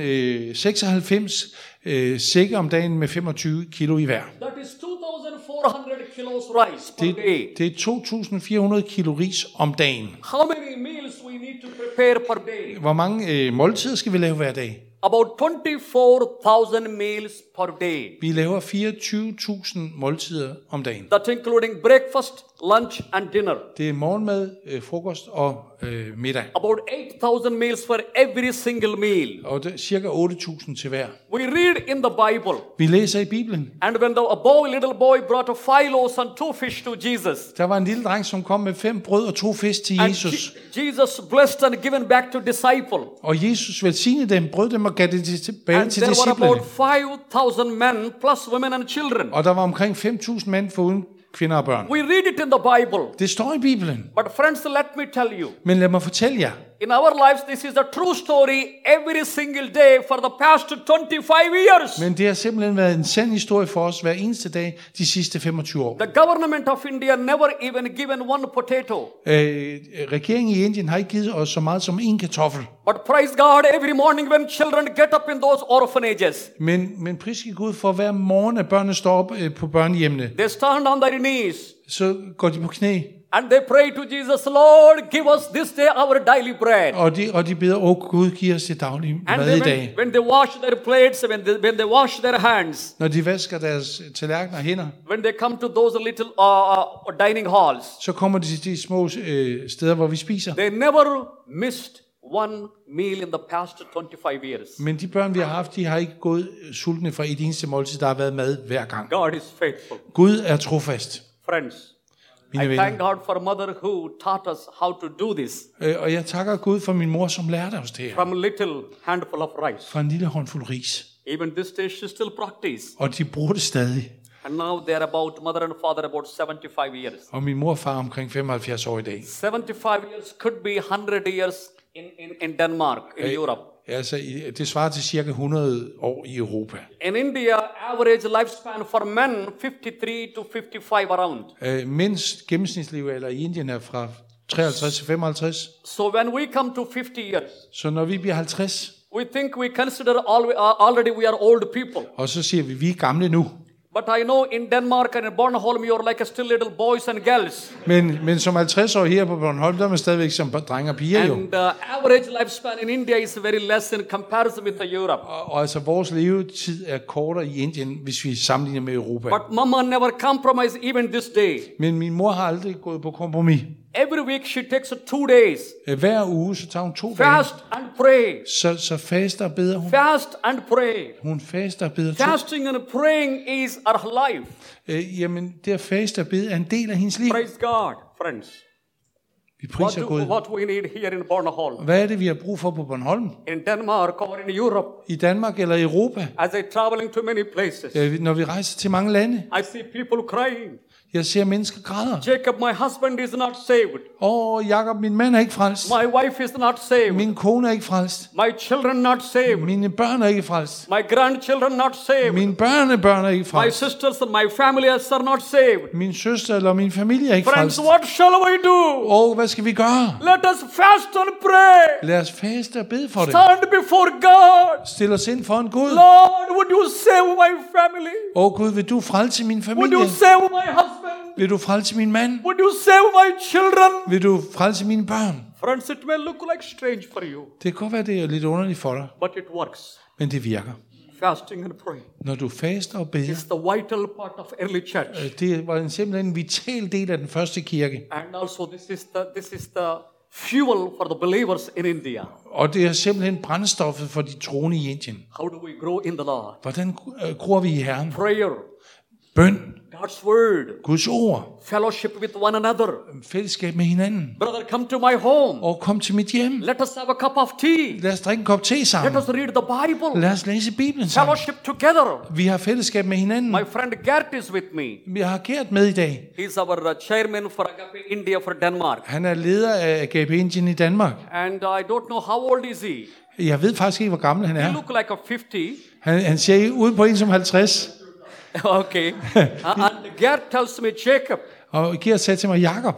[SPEAKER 2] 96 sække om dagen med 25 kilo i hver.
[SPEAKER 1] That is 2,400 kilos rice per day.
[SPEAKER 2] Det er 2.400 kilo ris om dagen.
[SPEAKER 1] How many meals we need to prepare per day?
[SPEAKER 2] Hvor mange måltider skal vi lave hver dag?
[SPEAKER 1] About 24,000 meals per day.
[SPEAKER 2] Vi laver 24.000 måltider om dagen.
[SPEAKER 1] That's including breakfast, lunch and dinner.
[SPEAKER 2] Det er morgenmad, frokost og middag.
[SPEAKER 1] About 8,000 meals for every single meal.
[SPEAKER 2] Og det er cirka 8.000 til hver.
[SPEAKER 1] We read in the Bible.
[SPEAKER 2] Vi læser i Bibelen.
[SPEAKER 1] And when little boy brought 5 loaves and 2 fish to Jesus.
[SPEAKER 2] Der var en lille dreng, som kom med 5 brød og 2 fisk til Jesus.
[SPEAKER 1] Jesus blessed and given back to disciple.
[SPEAKER 2] Og Jesus velsignede dem, brød dem og gav det tilbage til
[SPEAKER 1] And there were
[SPEAKER 2] disciplene.
[SPEAKER 1] about 5,000 men plus women and children.
[SPEAKER 2] Og der var omkring 5.000 mænd foruden kvinder og børn.
[SPEAKER 1] We read it in the Bible.
[SPEAKER 2] Det står i Bibelen.
[SPEAKER 1] But friends, let me tell you.
[SPEAKER 2] Men lad mig fortælle jer.
[SPEAKER 1] In our lives, this is a true story every single day for the past 25 years.
[SPEAKER 2] Men det har simpelthen været en sand historie for os hver eneste dag de sidste 25 år.
[SPEAKER 1] The government of India never even given one potato.
[SPEAKER 2] Regeringen i Indien har ikke givet os så meget som en kartoffel.
[SPEAKER 1] But praise God, every morning when children get up in those orphanages,
[SPEAKER 2] Men priske Gud for hver morgen, at børnene står op på børnehjemmene,
[SPEAKER 1] they stand on their knees
[SPEAKER 2] så går de på knæ,
[SPEAKER 1] and they pray to Jesus, Lord, give us this day our daily bread.
[SPEAKER 2] og de beder, Gud, giv os det daglige
[SPEAKER 1] And
[SPEAKER 2] mad i dag.
[SPEAKER 1] when they wash their plates, when they wash their hands,
[SPEAKER 2] Når de vasker deres tallerkener og hænder,
[SPEAKER 1] when they come to those little dining halls,
[SPEAKER 2] så kommer de til de små steder, hvor vi spiser.
[SPEAKER 1] they never missed one meal in the past 25 years.
[SPEAKER 2] Men de børn, vi har haft, de har ikke gået sultne fra et eneste måltid. Der har været mad hver gang.
[SPEAKER 1] God is faithful.
[SPEAKER 2] Gud er trofast.
[SPEAKER 1] Friends,
[SPEAKER 2] Mine
[SPEAKER 1] I
[SPEAKER 2] venner.
[SPEAKER 1] thank God for a mother who taught us how to do this
[SPEAKER 2] Og jeg takker Gud for min mor, som lærte os det her.
[SPEAKER 1] from a little handful of rice.
[SPEAKER 2] Fra en lille håndfuld ris.
[SPEAKER 1] Even this day she still practice.
[SPEAKER 2] Og de bruger det stadig.
[SPEAKER 1] And now they are about, mother and father, about 75 years.
[SPEAKER 2] Og min mor og far er omkring 75 år i dag.
[SPEAKER 1] 75 years could be 100 years in Denmark, in Europe.
[SPEAKER 2] Altså, det svarer til cirka 100 år i Europa.
[SPEAKER 1] In India, average lifespan for men 53 to 55 around.
[SPEAKER 2] Mænds gennemsnitslevealder i Indien er fra 53 til 55.
[SPEAKER 1] So when we come to 50 years,
[SPEAKER 2] Så når vi bliver 50,
[SPEAKER 1] we think we consider already we are old people.
[SPEAKER 2] og så siger vi er gamle nu.
[SPEAKER 1] But I know in Denmark and in Bornholm, you're like still little boys and girls.
[SPEAKER 2] Men som 50 år her på Bornholm, der er man stadigvæk som drenge og piger jo.
[SPEAKER 1] And the average lifespan in India is very less in comparison with Europe.
[SPEAKER 2] Og altså vores levetid er kortere i Indien, hvis vi sammenligner med Europa.
[SPEAKER 1] But mama never compromise even this day.
[SPEAKER 2] Men min mor har aldrig gået på kompromis.
[SPEAKER 1] Every week she takes 2 days.
[SPEAKER 2] Hver uge, så tager hun 2 dage.
[SPEAKER 1] Fast and pray.
[SPEAKER 2] Så faster og beder hun.
[SPEAKER 1] Fast and pray.
[SPEAKER 2] Hun faster og beder 2.
[SPEAKER 1] Fasting and praying is our life.
[SPEAKER 2] Jamen, det at faste og bede er en del af hendes liv.
[SPEAKER 1] Praise God, friends.
[SPEAKER 2] Vi priser Gud.
[SPEAKER 1] What we need here in Bornholm,
[SPEAKER 2] Hvad er det, vi har brug for på Bornholm?
[SPEAKER 1] in Denmark or in Europe,
[SPEAKER 2] I Danmark eller i Europa?
[SPEAKER 1] as I traveling to many places,
[SPEAKER 2] Når vi rejser til mange lande,
[SPEAKER 1] I see people crying.
[SPEAKER 2] jeg ser mennesker græder.
[SPEAKER 1] Jacob, my husband, is not saved.
[SPEAKER 2] Jakob, min mand er ikke frelst.
[SPEAKER 1] My wife is not saved.
[SPEAKER 2] Min kone er ikke frelst.
[SPEAKER 1] My children not saved.
[SPEAKER 2] Mine børn er ikke frelst.
[SPEAKER 1] My grandchildren not saved.
[SPEAKER 2] Mine børnebørn er ikke
[SPEAKER 1] My
[SPEAKER 2] frelst.
[SPEAKER 1] sisters and my families are not saved.
[SPEAKER 2] Min søster eller min familie er ikke
[SPEAKER 1] Friends,
[SPEAKER 2] frelst.
[SPEAKER 1] what shall we do?
[SPEAKER 2] Hvad skal vi gøre?
[SPEAKER 1] Let us fast and pray.
[SPEAKER 2] Lad os faste og bede for det.
[SPEAKER 1] Stand before God.
[SPEAKER 2] Stil os ind for en Gud.
[SPEAKER 1] Lord, would you save my family?
[SPEAKER 2] Gud, vil du frelse min
[SPEAKER 1] Would
[SPEAKER 2] familie?
[SPEAKER 1] you save my husband?
[SPEAKER 2] Vil du frelse min mand?
[SPEAKER 1] Would you save my children?
[SPEAKER 2] Vil du frelse mine børn?
[SPEAKER 1] Friends, it may look like strange for you,
[SPEAKER 2] Det kan godt være, det er lidt underligt for dig,
[SPEAKER 1] but it works.
[SPEAKER 2] men det virker.
[SPEAKER 1] Fasting and praying
[SPEAKER 2] Når du faster og beder,
[SPEAKER 1] is the vital part of early church.
[SPEAKER 2] det var simpelthen en vital del af den første kirke.
[SPEAKER 1] And also this is the fuel for the believers in India.
[SPEAKER 2] Og det er simpelthen brændstoffet for de troende i Indien.
[SPEAKER 1] How do we grow in the Lord?
[SPEAKER 2] Hvordan gror vi i Herren?
[SPEAKER 1] Prayer,
[SPEAKER 2] Bøn,
[SPEAKER 1] God's word,
[SPEAKER 2] Guds ord,
[SPEAKER 1] fellowship with one another.
[SPEAKER 2] fællesskab med hinanden.
[SPEAKER 1] Brother, come to my home.
[SPEAKER 2] Og kom til mit hjem.
[SPEAKER 1] Let us have a cup of tea.
[SPEAKER 2] Lad os drikke en kop te
[SPEAKER 1] Let
[SPEAKER 2] sammen.
[SPEAKER 1] us read the Bible.
[SPEAKER 2] Lad os læse Bibelen sammen.
[SPEAKER 1] Fellowship together.
[SPEAKER 2] Vi har fællesskab med hinanden.
[SPEAKER 1] My friend Gert is with me.
[SPEAKER 2] Vi har Gert med i dag.
[SPEAKER 1] He's our chairman for Agape India for Denmark.
[SPEAKER 2] Han er leder af Agape Indien i Danmark.
[SPEAKER 1] And I don't know how old is he.
[SPEAKER 2] Jeg ved faktisk ikke, hvor gammel han
[SPEAKER 1] He
[SPEAKER 2] er.
[SPEAKER 1] look like a 50.
[SPEAKER 2] Han ser ud på en som 50.
[SPEAKER 1] Okay. And Gert tells me, Jacob,
[SPEAKER 2] Og Gert sagde til mig, Jakob,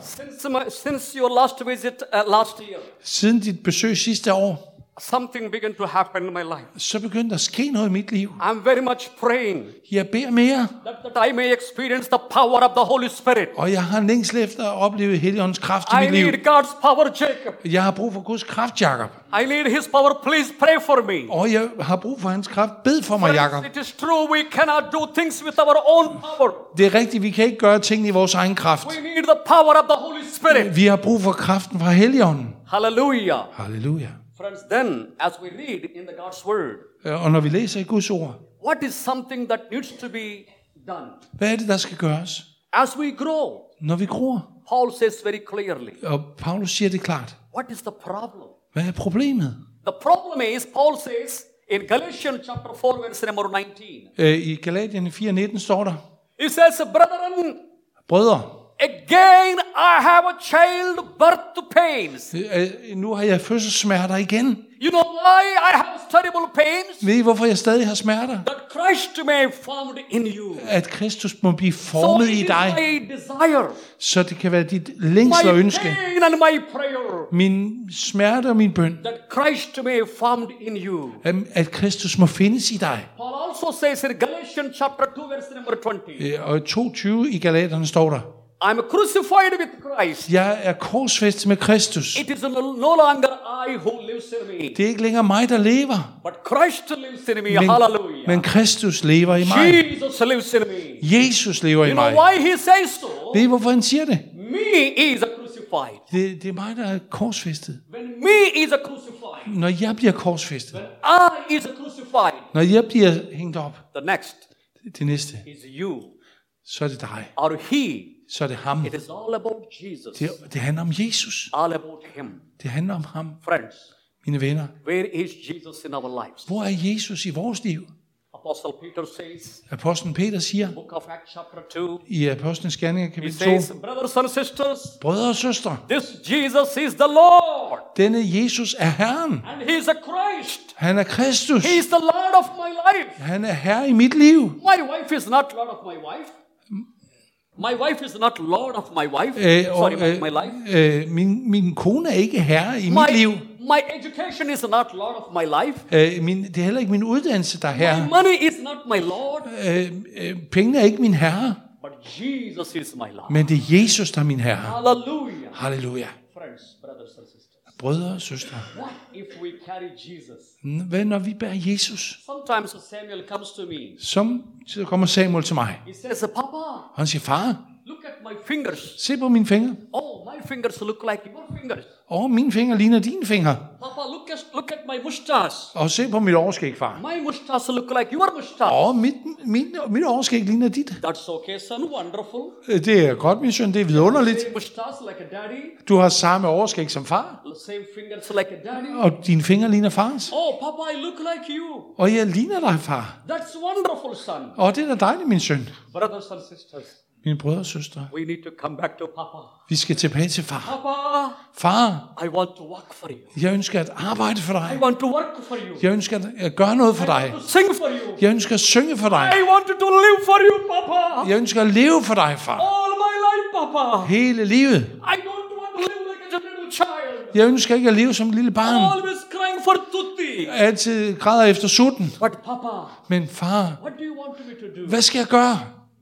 [SPEAKER 1] since your last visit last year,
[SPEAKER 2] siden dit besøg sidste år,
[SPEAKER 1] something began to happen in my life.
[SPEAKER 2] så begyndte der at ske noget i mit liv.
[SPEAKER 1] I'm very much praying
[SPEAKER 2] Jeg beder mere,
[SPEAKER 1] that I may experience the power of the Holy Spirit.
[SPEAKER 2] og jeg har en længsel efter at opleve Helligåndens kraft i
[SPEAKER 1] I
[SPEAKER 2] mit liv.
[SPEAKER 1] need God's power, Jacob.
[SPEAKER 2] Jeg har brug for Guds kraft, Jakob.
[SPEAKER 1] I need His power. Please pray for me.
[SPEAKER 2] Og jeg har brug for hans kraft. Bed for mig, Jakob.
[SPEAKER 1] It is true we cannot do things with our own power.
[SPEAKER 2] Det er rigtigt, vi kan ikke gøre tingene i vores egen kraft.
[SPEAKER 1] We need the power of the Holy Spirit.
[SPEAKER 2] Vi har brug for kraften fra Helligånden.
[SPEAKER 1] Hallelujah.
[SPEAKER 2] Halleluja.
[SPEAKER 1] Friends, then, as we read in the God's Word,
[SPEAKER 2] Og når vi læser i Guds ord,
[SPEAKER 1] what is something that needs to be done?
[SPEAKER 2] hvad er det, der skal gøres?
[SPEAKER 1] As we grow,
[SPEAKER 2] Når vi gror,
[SPEAKER 1] Paul says very clearly,
[SPEAKER 2] og Paulus siger det klart,
[SPEAKER 1] what is the problem?
[SPEAKER 2] hvad er problemet?
[SPEAKER 1] The problem is, Paul says in Galatians chapter 4, verse number 19,
[SPEAKER 2] I Galatierne 4:19 står der,
[SPEAKER 1] he says, brethren,
[SPEAKER 2] brødre,
[SPEAKER 1] Again I have a childbirth pains.
[SPEAKER 2] Nu har jeg fødselssmerter igen.
[SPEAKER 1] You know why I have terrible pains?
[SPEAKER 2] Ved I, hvorfor jeg stadig har smerter?
[SPEAKER 1] That Christ may be formed in you.
[SPEAKER 2] At Kristus må blive
[SPEAKER 1] So
[SPEAKER 2] formet
[SPEAKER 1] it
[SPEAKER 2] i
[SPEAKER 1] is
[SPEAKER 2] dig,
[SPEAKER 1] my desire,
[SPEAKER 2] så det kan være dit længsel og
[SPEAKER 1] my
[SPEAKER 2] ønske.
[SPEAKER 1] pain and my prayer,
[SPEAKER 2] Min smerte og min bøn,
[SPEAKER 1] that Christ may be formed in you.
[SPEAKER 2] at Kristus må findes i dig.
[SPEAKER 1] Paul also says in Galatians chapter 2 verse number 20,
[SPEAKER 2] Og i 2:20 i Galaterne står der,
[SPEAKER 1] I am crucified with Christ.
[SPEAKER 2] jeg er korsfæstet med Kristus.
[SPEAKER 1] It is no longer I who lives in me,
[SPEAKER 2] Det er ikke længere mig, der lever,
[SPEAKER 1] but Christ lives in me. Hallelujah.
[SPEAKER 2] men Kristus lever i mig.
[SPEAKER 1] Jesus lives in me.
[SPEAKER 2] Jesus lever i
[SPEAKER 1] You know
[SPEAKER 2] mig.
[SPEAKER 1] why he says so?
[SPEAKER 2] Ved I, hvorfor han siger det?
[SPEAKER 1] Me is a crucified.
[SPEAKER 2] Det er mig, der er korsfæstet.
[SPEAKER 1] When me is a crucified,
[SPEAKER 2] Når jeg bliver korsfæstet,
[SPEAKER 1] when I is a crucified,
[SPEAKER 2] når jeg bliver hængt op,
[SPEAKER 1] the next
[SPEAKER 2] det næste,
[SPEAKER 1] is you
[SPEAKER 2] så er det dig.
[SPEAKER 1] or he.
[SPEAKER 2] Så er det ham.
[SPEAKER 1] It is all about Jesus.
[SPEAKER 2] Det handler om Jesus.
[SPEAKER 1] All about him.
[SPEAKER 2] Det handler om ham.
[SPEAKER 1] Friends,
[SPEAKER 2] Mine venner,
[SPEAKER 1] where is Jesus in our lives?
[SPEAKER 2] hvor er Jesus i vores liv?
[SPEAKER 1] Apostle Peter says,
[SPEAKER 2] Apostlen Peter siger
[SPEAKER 1] book of Acts chapter 2,
[SPEAKER 2] i Apostlenes Gerninger
[SPEAKER 1] he
[SPEAKER 2] kapitel 2,
[SPEAKER 1] says, brothers and sisters,
[SPEAKER 2] brødre og søstre,
[SPEAKER 1] this Jesus is the Lord,
[SPEAKER 2] denne Jesus er Herren.
[SPEAKER 1] and he is a Christ.
[SPEAKER 2] Han er Kristus.
[SPEAKER 1] He is the Lord of my life.
[SPEAKER 2] Han er Herre i mit liv.
[SPEAKER 1] My wife is not Lord of my wife. My wife is not Lord of my wife. My life.
[SPEAKER 2] Min kone er ikke herre i mit liv.
[SPEAKER 1] My education is not Lord of my life.
[SPEAKER 2] Det er heller ikke min uddannelse, der er
[SPEAKER 1] My
[SPEAKER 2] herre.
[SPEAKER 1] money is not my Lord.
[SPEAKER 2] Pengene er ikke min herre,
[SPEAKER 1] But Jesus is my Lord.
[SPEAKER 2] men det er Jesus, der er min herre.
[SPEAKER 1] Hallelujah.
[SPEAKER 2] Halleluja.
[SPEAKER 1] Friends, brothers and sisters.
[SPEAKER 2] Brødre og søstre,
[SPEAKER 1] What if we carry Jesus?
[SPEAKER 2] hvad når vi bærer Jesus?
[SPEAKER 1] Sometimes Samuel comes to me.
[SPEAKER 2] Så kommer Samuel til mig,
[SPEAKER 1] He says, Papa,
[SPEAKER 2] og han siger, far,
[SPEAKER 1] look at my fingers.
[SPEAKER 2] se på mine fingre.
[SPEAKER 1] Oh, my fingers look like your fingers.
[SPEAKER 2] Mine fingre ligner dine fingre.
[SPEAKER 1] Papa, look at my mustache.
[SPEAKER 2] Og se på mit overskæg, far.
[SPEAKER 1] My mustache look like your mustache.
[SPEAKER 2] Mit overskæg ligner dit.
[SPEAKER 1] That's okay, son. Wonderful.
[SPEAKER 2] Det er godt, min søn, det er vidunderligt.
[SPEAKER 1] Same mustache like a daddy.
[SPEAKER 2] Du har samme overskæg som far,
[SPEAKER 1] Same fingers like a daddy.
[SPEAKER 2] og dine fingre ligner fars.
[SPEAKER 1] Oh, Papa, I look like you.
[SPEAKER 2] Og jeg ligner dig, far.
[SPEAKER 1] That's wonderful, son.
[SPEAKER 2] Og det er da dejligt, min søn.
[SPEAKER 1] Brothers and sisters,
[SPEAKER 2] Mine brødre og søstre,
[SPEAKER 1] we need to come back to Papa.
[SPEAKER 2] vi skal tilbage til far.
[SPEAKER 1] Papa,
[SPEAKER 2] Far,
[SPEAKER 1] I want to work for you.
[SPEAKER 2] jeg ønsker at arbejde for
[SPEAKER 1] I
[SPEAKER 2] dig.
[SPEAKER 1] want to work for you.
[SPEAKER 2] Jeg ønsker at gøre noget for
[SPEAKER 1] I
[SPEAKER 2] dig.
[SPEAKER 1] want to sing for you.
[SPEAKER 2] Jeg ønsker at synge for dig.
[SPEAKER 1] I want to live for you, Papa.
[SPEAKER 2] Jeg ønsker at leve for dig, far.
[SPEAKER 1] All my life, Papa.
[SPEAKER 2] Hele livet.
[SPEAKER 1] I don't want to live like a little child.
[SPEAKER 2] Jeg ønsker ikke at leve som et lille barn.
[SPEAKER 1] Always crying for tutti.
[SPEAKER 2] Altid græder efter sutten.
[SPEAKER 1] But Papa,
[SPEAKER 2] Men far,
[SPEAKER 1] what do you want me to do?
[SPEAKER 2] hvad skal jeg gøre?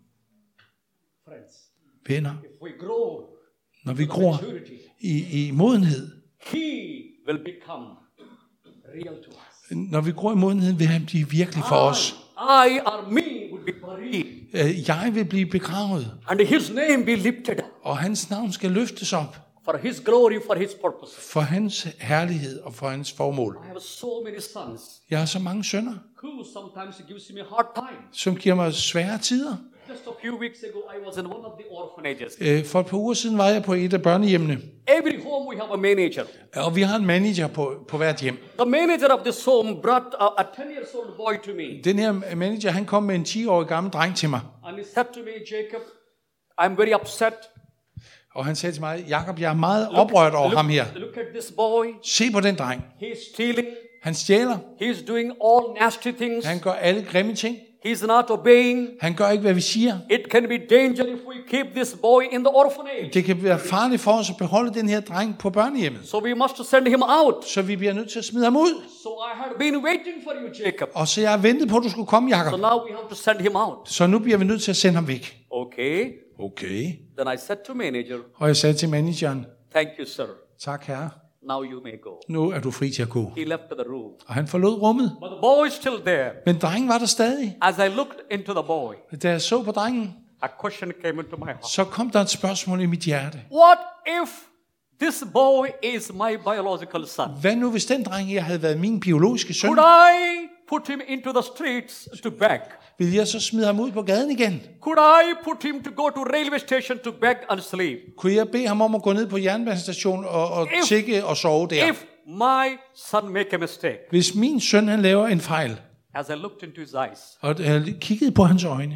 [SPEAKER 1] Friends,
[SPEAKER 2] Venner,
[SPEAKER 1] if we grow
[SPEAKER 2] når vi
[SPEAKER 1] to
[SPEAKER 2] gror
[SPEAKER 1] maturity,
[SPEAKER 2] i modenhed,
[SPEAKER 1] He will become real to us.
[SPEAKER 2] når vi gror i modenhed, vil han blive virkelig for os.
[SPEAKER 1] I or me will be buried,
[SPEAKER 2] Jeg vil blive begravet,
[SPEAKER 1] and His name be lifted up
[SPEAKER 2] og hans navn skal løftes op
[SPEAKER 1] for His glory, for His purpose.
[SPEAKER 2] for hans herlighed og for hans formål.
[SPEAKER 1] I have so many sons
[SPEAKER 2] Jeg har så mange sønner,
[SPEAKER 1] who sometimes gives me a hard time.
[SPEAKER 2] som giver mig svære tider.
[SPEAKER 1] Just a few weeks ago, I was in one of the orphanages.
[SPEAKER 2] For et par uger siden var jeg på et af børnehjemmene,
[SPEAKER 1] Every home we have a manager.
[SPEAKER 2] og vi har en manager på hvert hjem.
[SPEAKER 1] The manager of this home brought a 10-year-old boy to me.
[SPEAKER 2] Den her manager, han kom med en 10-årig gammel dreng til mig,
[SPEAKER 1] And he said to me, Jacob, I'm very upset.
[SPEAKER 2] og han sagde til mig, Jakob, jeg er meget oprørt over ham her.
[SPEAKER 1] Look at this boy.
[SPEAKER 2] Se på den dreng.
[SPEAKER 1] He's stealing.
[SPEAKER 2] Han stjæler.
[SPEAKER 1] He's doing all nasty things.
[SPEAKER 2] Han gør alle grimme ting.
[SPEAKER 1] He's not obeying.
[SPEAKER 2] Han gør ikke, hvad vi siger.
[SPEAKER 1] It can be danger if we keep this boy in the orphanage.
[SPEAKER 2] Det kan være farligt for os at beholde den her dreng på børnehjemmet.
[SPEAKER 1] So we must send him out.
[SPEAKER 2] Så vi bliver nødt til at smide ham ud.
[SPEAKER 1] So I had been waiting for you, Jacob.
[SPEAKER 2] Og så jeg har ventet på, at du skulle komme,
[SPEAKER 1] So
[SPEAKER 2] Jakob.
[SPEAKER 1] now we have to send him out.
[SPEAKER 2] Så nu bliver vi nødt til at sende ham væk.
[SPEAKER 1] Okay.
[SPEAKER 2] Okay.
[SPEAKER 1] Then I said to manager,
[SPEAKER 2] Og jeg sagde til manageren,
[SPEAKER 1] thank you, sir.
[SPEAKER 2] tak herre,
[SPEAKER 1] Now you may go.
[SPEAKER 2] nu er du fri til at gå.
[SPEAKER 1] He left the room.
[SPEAKER 2] Og han forlod rummet.
[SPEAKER 1] But the boy is still there.
[SPEAKER 2] Men drengen var der stadig.
[SPEAKER 1] As I looked into the boy,
[SPEAKER 2] Da jeg så på drengen,
[SPEAKER 1] a question came into my heart.
[SPEAKER 2] så kom der et spørgsmål i mit hjerte.
[SPEAKER 1] What if this boy is my biological son?
[SPEAKER 2] Hvad nu, hvis den dreng her havde været min biologiske søn?
[SPEAKER 1] Could I put him into the streets to beg?
[SPEAKER 2] Vil jeg så smide ham ud på gaden igen?
[SPEAKER 1] Could I put him to go to railway station to beg and sleep?
[SPEAKER 2] Kunne jeg bede ham om at gå ned på jernbanestationen og tigge og sove der?
[SPEAKER 1] If my son make a mistake,
[SPEAKER 2] Hvis min søn han laver en fejl,
[SPEAKER 1] as I looked into his eyes,
[SPEAKER 2] og jeg kiggede på hans øjne,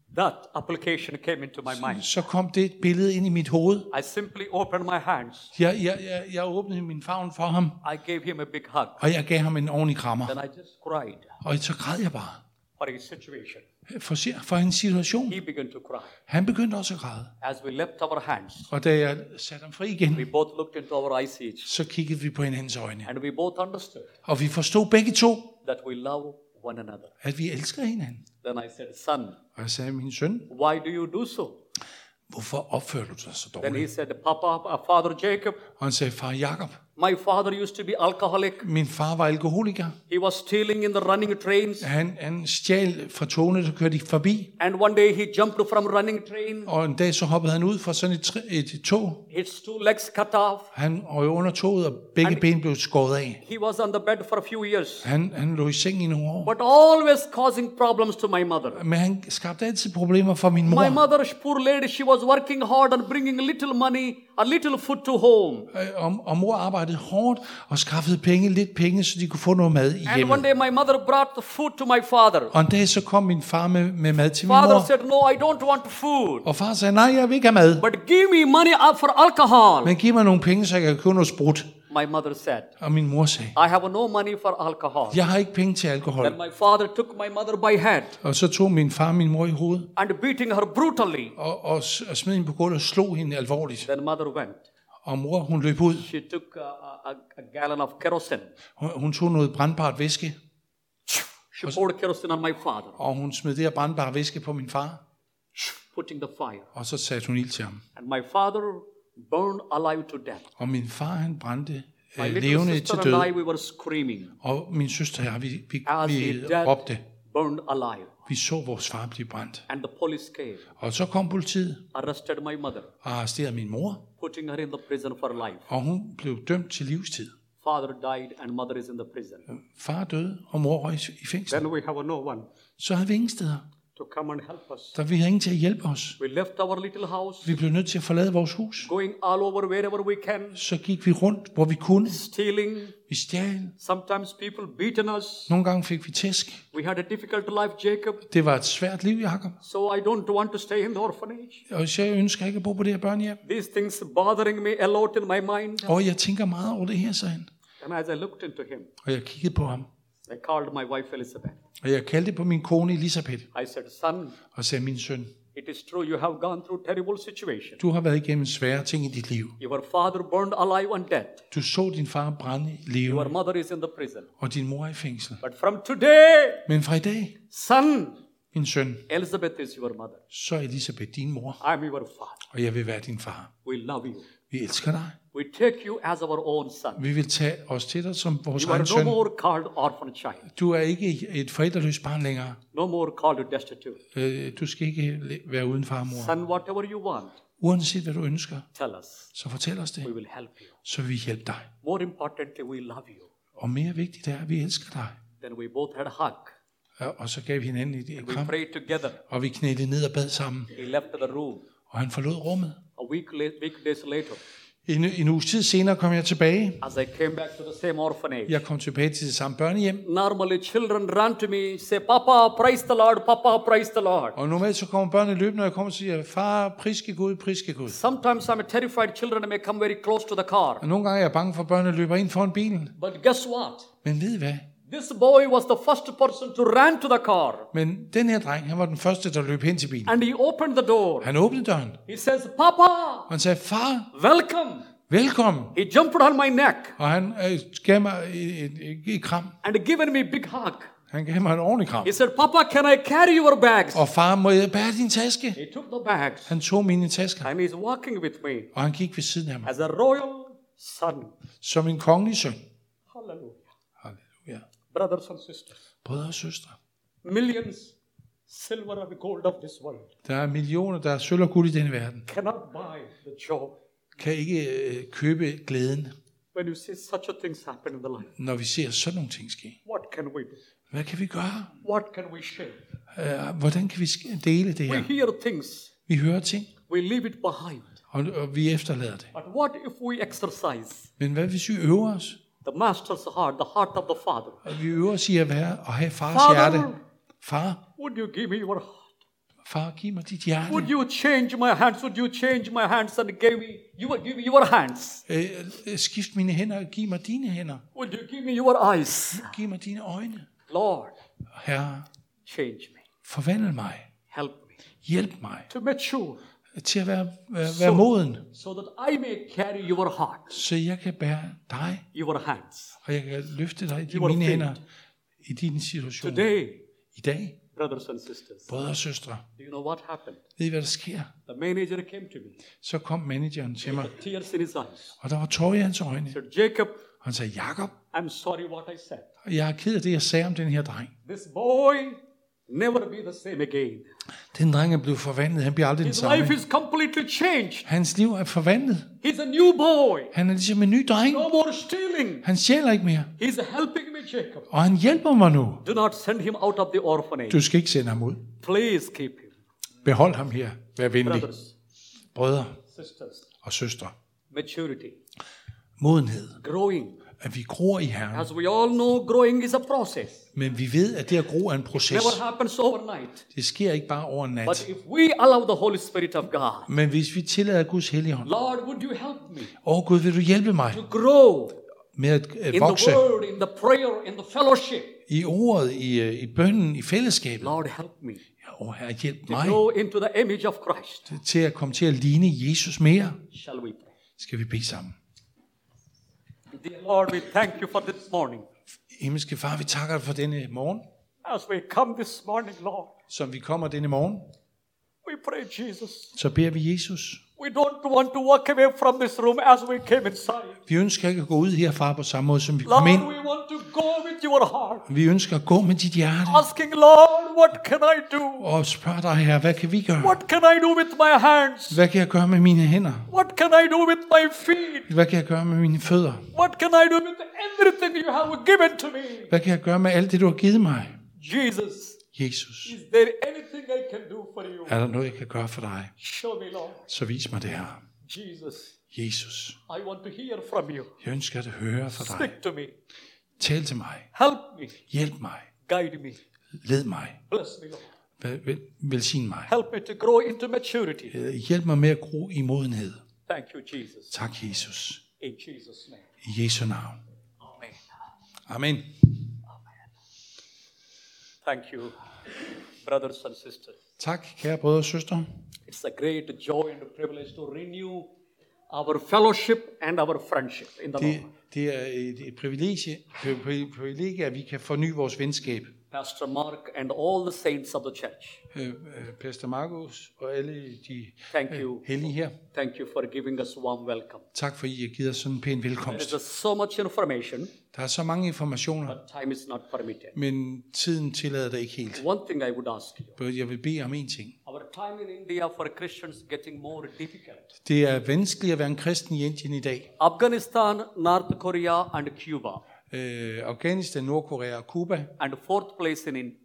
[SPEAKER 1] that application came into my mind.
[SPEAKER 2] Så kom det billede ind i mit hoved.
[SPEAKER 1] I simply opened my hands.
[SPEAKER 2] Jeg åbnede min favn for ham,
[SPEAKER 1] I gave him a big hug.
[SPEAKER 2] og jeg gav ham en ordentlig krammer.
[SPEAKER 1] Then I just cried
[SPEAKER 2] Og så græd jeg bare
[SPEAKER 1] for his situation.
[SPEAKER 2] for hans situation.
[SPEAKER 1] He began to cry.
[SPEAKER 2] Han begyndte også at græde.
[SPEAKER 1] As we left our hands,
[SPEAKER 2] Og da jeg satte ham fri igen,
[SPEAKER 1] we both looked into our eyes each.
[SPEAKER 2] så kiggede vi på hinandens øjne.
[SPEAKER 1] And we both understood
[SPEAKER 2] Og vi forstod begge to,
[SPEAKER 1] that we love one another.
[SPEAKER 2] at vi elsker hinanden.
[SPEAKER 1] Then I said, son,
[SPEAKER 2] Og jeg sagde, min søn,
[SPEAKER 1] why do you do so?
[SPEAKER 2] hvorfor opfører du dig så
[SPEAKER 1] Then he
[SPEAKER 2] dårligt?
[SPEAKER 1] said, Father Jacob,
[SPEAKER 2] Og han sagde, far Jakob,
[SPEAKER 1] my father used to be alcoholic.
[SPEAKER 2] min far var alkoholiker.
[SPEAKER 1] He was stealing in the running trains.
[SPEAKER 2] Han stjal fra togene, der kørte forbi.
[SPEAKER 1] And one day he jumped from a running train.
[SPEAKER 2] Og en dag så hoppede han ud fra sådan et tog.
[SPEAKER 1] His 2 legs cut off.
[SPEAKER 2] Han røg under toget, og begge ben blev skåret af.
[SPEAKER 1] He was on the bed for a few years.
[SPEAKER 2] Han lå i seng i nogle år.
[SPEAKER 1] But always causing problems to my mother.
[SPEAKER 2] Men han skabte altid problemer for min
[SPEAKER 1] My
[SPEAKER 2] mor.
[SPEAKER 1] mother, poor lady, she was working hard and bringing a little money, a little food to home.
[SPEAKER 2] Og mor arbejdede hårdt og skaffede lidt penge, så de kunne få noget mad i
[SPEAKER 1] And one
[SPEAKER 2] hjemmet.
[SPEAKER 1] day my mother brought the food to my father.
[SPEAKER 2] Og en dag så kom min far med mad til min
[SPEAKER 1] Father
[SPEAKER 2] mor.
[SPEAKER 1] said, no, I don't want food.
[SPEAKER 2] Og far sagde, nej, jeg vil ikke have mad.
[SPEAKER 1] But give me money for alcohol.
[SPEAKER 2] Men giv mig nogle penge, så jeg kan købe noget sprut.
[SPEAKER 1] My mother said,
[SPEAKER 2] Og min mor sagde,
[SPEAKER 1] I have no money for alcohol.
[SPEAKER 2] jeg har ikke penge til alkohol.
[SPEAKER 1] Then my father took my mother by hand
[SPEAKER 2] Og så tog min far min mor i hovedet
[SPEAKER 1] and beating her brutally.
[SPEAKER 2] og smed hende på gulvet og slog hende alvorligt.
[SPEAKER 1] Then mother went.
[SPEAKER 2] Og mor, hun løb ud.
[SPEAKER 1] She took a gallon of kerosene.
[SPEAKER 2] Hun tog noget brandbart væske,
[SPEAKER 1] She poured kerosene on my father,
[SPEAKER 2] og hun smed det her brandbare væske på min far.
[SPEAKER 1] putting the fire.
[SPEAKER 2] Og så satte hun ild til ham.
[SPEAKER 1] And my father burned alive to death.
[SPEAKER 2] Og min far, han brændte
[SPEAKER 1] My little
[SPEAKER 2] levende til
[SPEAKER 1] sister
[SPEAKER 2] død.
[SPEAKER 1] and I, we were screaming
[SPEAKER 2] Og min søster og jeg, vi
[SPEAKER 1] as he dead,
[SPEAKER 2] råbte.
[SPEAKER 1] burned alive.
[SPEAKER 2] Vi så vores far blive brændt.
[SPEAKER 1] And the police came,
[SPEAKER 2] Og så kom politiet
[SPEAKER 1] arrested my mother,
[SPEAKER 2] og arresterede min mor.
[SPEAKER 1] putting her in the prison for life.
[SPEAKER 2] Og hun blev dømt til livstid.
[SPEAKER 1] Father died and mother is in the prison.
[SPEAKER 2] Far døde, og mor røg i fængsel.
[SPEAKER 1] Then we have no one
[SPEAKER 2] Så havde vi ingen steder.
[SPEAKER 1] to come and help us.
[SPEAKER 2] Der vi havde ingen til at hjælpe os.
[SPEAKER 1] We left our little house,
[SPEAKER 2] Vi blev nødt til at forlade vores hus.
[SPEAKER 1] going all over wherever we can,
[SPEAKER 2] Så gik vi rundt, hvor vi kunne.
[SPEAKER 1] stealing.
[SPEAKER 2] Vi stjal.
[SPEAKER 1] Sometimes people beaten us.
[SPEAKER 2] Nogle gange fik vi tæsk.
[SPEAKER 1] We had a difficult life, Jacob.
[SPEAKER 2] Det var et svært liv, Jakob.
[SPEAKER 1] So I don't want to stay in the orphanage.
[SPEAKER 2] Og så jeg ønsker ikke at bo på det her børnehjem.
[SPEAKER 1] These things bothering me a lot in my mind.
[SPEAKER 2] Og jeg tænker meget over det her, sagde han.
[SPEAKER 1] And as I looked into him,
[SPEAKER 2] Og jeg kiggede på ham.
[SPEAKER 1] I called my wife Elizabeth.
[SPEAKER 2] Og jeg kaldte på min kone Elisabeth.
[SPEAKER 1] I said, son,
[SPEAKER 2] Og sagde, min søn,
[SPEAKER 1] it is true you have gone through terrible situation.
[SPEAKER 2] du har været igennem svære ting i dit liv.
[SPEAKER 1] Your father burned alive and dead.
[SPEAKER 2] Du så din far brænde
[SPEAKER 1] Your
[SPEAKER 2] levende,
[SPEAKER 1] mother is in the prison.
[SPEAKER 2] og din mor er i fængsel.
[SPEAKER 1] But from today,
[SPEAKER 2] Men fra i dag,
[SPEAKER 1] son,
[SPEAKER 2] min søn,
[SPEAKER 1] Elizabeth is your mother.
[SPEAKER 2] så er Elisabeth din mor,
[SPEAKER 1] I am your father.
[SPEAKER 2] og jeg vil være din far.
[SPEAKER 1] We love you.
[SPEAKER 2] Vi elsker dig.
[SPEAKER 1] We take you as our own son.
[SPEAKER 2] Vi vil tage os til dig som vores
[SPEAKER 1] You are
[SPEAKER 2] egen
[SPEAKER 1] no
[SPEAKER 2] søn.
[SPEAKER 1] more called orphan child.
[SPEAKER 2] Du er ikke et forældreløst barn længere.
[SPEAKER 1] No more called destitute.
[SPEAKER 2] Du skal ikke være uden far og mor.
[SPEAKER 1] Son, whatever you want,
[SPEAKER 2] Uanset hvad du ønsker,
[SPEAKER 1] tell us.
[SPEAKER 2] så fortæl os det,
[SPEAKER 1] We will help you.
[SPEAKER 2] så vil vi hjælpe dig.
[SPEAKER 1] More importantly, we love you.
[SPEAKER 2] Og mere vigtigt er, at vi elsker dig.
[SPEAKER 1] Then we both had a hug.
[SPEAKER 2] Og så gav vi hinanden et
[SPEAKER 1] We
[SPEAKER 2] kram,
[SPEAKER 1] prayed together.
[SPEAKER 2] og vi knælede ned og bad sammen.
[SPEAKER 1] He left the room.
[SPEAKER 2] Og han forlod rummet.
[SPEAKER 1] A week days later,
[SPEAKER 2] En uges tid senere kom jeg tilbage.
[SPEAKER 1] as I came back to the same orphanage,
[SPEAKER 2] Jeg kom tilbage til det samme børnehjem.
[SPEAKER 1] normally children run to me, say, Papa, praise the Lord, Papa, praise the Lord.
[SPEAKER 2] Og normalt så kommer børnene løbende, når jeg kommer og siger, far, priske Gud, priske Gud.
[SPEAKER 1] Sometimes I'm terrified children may come very close to the car.
[SPEAKER 2] Og nogle gange er jeg bange for, at børnene løber ind foran bilen.
[SPEAKER 1] But guess what?
[SPEAKER 2] Men ved I hvad?
[SPEAKER 1] This boy was the first person to run to the car.
[SPEAKER 2] Men den her dreng, han var den første, der løb hen til bilen.
[SPEAKER 1] And he opened the door.
[SPEAKER 2] Han åbnede døren,
[SPEAKER 1] He says, Papa,
[SPEAKER 2] og han sagde, far,
[SPEAKER 1] welcome.
[SPEAKER 2] velkommen.
[SPEAKER 1] He jumped on my neck
[SPEAKER 2] Og han gav mig et kram.
[SPEAKER 1] and given me a big hug.
[SPEAKER 2] Han gav mig en ordentlig kram.
[SPEAKER 1] He said, Papa, can I carry your bags?
[SPEAKER 2] Og far, må jeg bære din taske?
[SPEAKER 1] He took the bags
[SPEAKER 2] Han tog mine tasker,
[SPEAKER 1] and he's walking with me
[SPEAKER 2] og han gik ved siden af mig.
[SPEAKER 1] as a royal son.
[SPEAKER 2] Som en kongelig søn.
[SPEAKER 1] Hallelujah.
[SPEAKER 2] Halleluja.
[SPEAKER 1] Brothers and sisters,
[SPEAKER 2] Brødre og søstre.
[SPEAKER 1] millions silver and gold of this world
[SPEAKER 2] Der er millioner, der er sølv og guld i denne verden.
[SPEAKER 1] cannot buy the joy
[SPEAKER 2] Kan ikke købe glæden,
[SPEAKER 1] when you see such a things happen in the life.
[SPEAKER 2] når vi ser sådan nogle ting ske.
[SPEAKER 1] What can we do?
[SPEAKER 2] Hvad kan vi gøre?
[SPEAKER 1] What can we share?
[SPEAKER 2] Hvordan kan vi dele det
[SPEAKER 1] We
[SPEAKER 2] her?
[SPEAKER 1] hear things,
[SPEAKER 2] Vi hører ting,
[SPEAKER 1] we leave it behind.
[SPEAKER 2] og vi efterlader det.
[SPEAKER 1] But what if we exercise
[SPEAKER 2] Men hvad hvis vi øver os?
[SPEAKER 1] the master's heart, the heart of the Father?
[SPEAKER 2] Og vi øver os i at have fars
[SPEAKER 1] Father.
[SPEAKER 2] hjerte. Far,
[SPEAKER 1] Would you give me your heart?
[SPEAKER 2] Far, giv mig dit hjerte.
[SPEAKER 1] Would you change my hands? Would you change my hands and give me your hands?
[SPEAKER 2] Skift mine hænder og giv mig dine hænder.
[SPEAKER 1] Would you give me your eyes?
[SPEAKER 2] Giv mig dine øjne.
[SPEAKER 1] Lord,
[SPEAKER 2] Herre,
[SPEAKER 1] change me.
[SPEAKER 2] forvandl mig.
[SPEAKER 1] Help me
[SPEAKER 2] Hjælp mig
[SPEAKER 1] to mature
[SPEAKER 2] til at være moden,
[SPEAKER 1] so that I may carry your heart,
[SPEAKER 2] så jeg kan bære dig,
[SPEAKER 1] your hands.
[SPEAKER 2] og jeg kan løfte dig i
[SPEAKER 1] Your
[SPEAKER 2] mine
[SPEAKER 1] feet.
[SPEAKER 2] hænder i din situation.
[SPEAKER 1] Today,
[SPEAKER 2] I dag,
[SPEAKER 1] brothers and sisters,
[SPEAKER 2] brødre og søstre,
[SPEAKER 1] do you know what happened?
[SPEAKER 2] ved I, hvad der sker?
[SPEAKER 1] The manager came to me,
[SPEAKER 2] Så kom manageren til mig,
[SPEAKER 1] tears in his eyes.
[SPEAKER 2] og der var tårer i hans øjne.
[SPEAKER 1] He said, Jacob,
[SPEAKER 2] Han sagde, Jakob,
[SPEAKER 1] I'm sorry what I said.
[SPEAKER 2] jeg er ked af det, jeg sagde om den her dreng.
[SPEAKER 1] This boy never be the same again.
[SPEAKER 2] Den dreng er blevet forvandlet, han bliver aldrig den
[SPEAKER 1] His
[SPEAKER 2] samme.
[SPEAKER 1] life is completely changed.
[SPEAKER 2] Hans liv er forvandlet.
[SPEAKER 1] He's a new boy.
[SPEAKER 2] Han er ligesom en ny dreng.
[SPEAKER 1] No more stealing.
[SPEAKER 2] Han stjæler ikke mere,
[SPEAKER 1] He's helping me, Jacob.
[SPEAKER 2] og han hjælper mig nu.
[SPEAKER 1] Do not send him out of the orphanage.
[SPEAKER 2] Du skal ikke sende ham ud.
[SPEAKER 1] Please keep him.
[SPEAKER 2] Behold ham her. Vær venlig.
[SPEAKER 1] Brothers,
[SPEAKER 2] Brødre
[SPEAKER 1] sisters,
[SPEAKER 2] og søstre.
[SPEAKER 1] maturity,
[SPEAKER 2] Modenhed.
[SPEAKER 1] growing.
[SPEAKER 2] At vi gror i Herren.
[SPEAKER 1] As we all know, growing is a process.
[SPEAKER 2] Men vi ved, at det at gro er en proces.
[SPEAKER 1] Never happens overnight.
[SPEAKER 2] Det sker ikke bare over en
[SPEAKER 1] But
[SPEAKER 2] nat.
[SPEAKER 1] if we allow the Holy Spirit of God,
[SPEAKER 2] Men hvis vi tillader Guds Helligånd,
[SPEAKER 1] Lord, would you help me
[SPEAKER 2] Gud, vil du hjælpe mig
[SPEAKER 1] to grow
[SPEAKER 2] med at
[SPEAKER 1] in
[SPEAKER 2] vokse
[SPEAKER 1] the word, in the prayer, in the fellowship?
[SPEAKER 2] i ordet, i bønnen, i fællesskabet.
[SPEAKER 1] Lord, help me
[SPEAKER 2] Herre, hjælp
[SPEAKER 1] to
[SPEAKER 2] mig
[SPEAKER 1] grow into the image of Christ.
[SPEAKER 2] til at komme til at ligne Jesus mere.
[SPEAKER 1] Shall we pray?
[SPEAKER 2] Skal vi bede sammen.
[SPEAKER 1] Dear Lord, we thank you for this morning.
[SPEAKER 2] Himmelske Far, vi takker dig for denne morgen,
[SPEAKER 1] As we come this morning, Lord,
[SPEAKER 2] som vi kommer denne morgen.
[SPEAKER 1] we pray, Jesus.
[SPEAKER 2] Så beder vi Jesus.
[SPEAKER 1] We don't want to walk away from this room as we came inside.
[SPEAKER 2] Vi ønsker ikke at gå ud herfra på samme måde, som vi kom
[SPEAKER 1] Lord,
[SPEAKER 2] ind.
[SPEAKER 1] we want to go with your heart.
[SPEAKER 2] Vi ønsker at gå med dit hjerte
[SPEAKER 1] Asking, Lord, what can I do?
[SPEAKER 2] og spørge dig, Herre, hvad kan vi gøre?
[SPEAKER 1] What can I do with my hands?
[SPEAKER 2] Hvad kan jeg gøre med mine hænder?
[SPEAKER 1] What can I do with my feet?
[SPEAKER 2] Hvad kan jeg gøre med mine fødder?
[SPEAKER 1] What can I do with everything you have given to me?
[SPEAKER 2] Hvad kan jeg gøre med alt det, du har givet mig?
[SPEAKER 1] Jesus,
[SPEAKER 2] Jesus,
[SPEAKER 1] is there anything I can do for you?
[SPEAKER 2] er der noget, jeg kan gøre for dig?
[SPEAKER 1] Show me, Lord.
[SPEAKER 2] Så vis mig det her.
[SPEAKER 1] Jesus,
[SPEAKER 2] Jesus,
[SPEAKER 1] I want to hear from you.
[SPEAKER 2] jeg ønsker at høre fra dig.
[SPEAKER 1] Speak to me.
[SPEAKER 2] Tal til mig.
[SPEAKER 1] Help me.
[SPEAKER 2] Hjælp mig.
[SPEAKER 1] Guide me.
[SPEAKER 2] Led mig.
[SPEAKER 1] Bless me, Lord.
[SPEAKER 2] Velsign mig.
[SPEAKER 1] Help me to grow into maturity.
[SPEAKER 2] Hjælp mig med at gro i modenhed.
[SPEAKER 1] Thank you, Jesus.
[SPEAKER 2] Tak, Jesus.
[SPEAKER 1] In Jesus' name.
[SPEAKER 2] I Jesu navn.
[SPEAKER 1] Amen.
[SPEAKER 2] Amen.
[SPEAKER 1] Thank you, brothers and sisters.
[SPEAKER 2] Tak, kære brødre og søstre.
[SPEAKER 1] It's a great joy and a privilege to renew our fellowship and our friendship in the Lord.
[SPEAKER 2] Det er et privilegie, at vi kan forny vores venskab.
[SPEAKER 1] Pastor Mark and all the saints of the church.
[SPEAKER 2] Pastor Markus og alle de
[SPEAKER 1] Thank you.
[SPEAKER 2] hellige her.
[SPEAKER 1] Thank you for giving us warm welcome.
[SPEAKER 2] Tak for, I har givet os sådan en pæn
[SPEAKER 1] There
[SPEAKER 2] velkomst.
[SPEAKER 1] is so much information,
[SPEAKER 2] Der er så mange informationer,
[SPEAKER 1] but time is not permitted.
[SPEAKER 2] men tiden tillader det ikke helt.
[SPEAKER 1] One thing I would ask you.
[SPEAKER 2] Jeg vil bede om en ting.
[SPEAKER 1] Our time in India for Christians getting more difficult.
[SPEAKER 2] Det er vanskeligt at være en kristen i Indien i dag.
[SPEAKER 1] Afghanistan, North Korea and Cuba.
[SPEAKER 2] Afghanistan, Nordkorea og Cuba.
[SPEAKER 1] And fourth place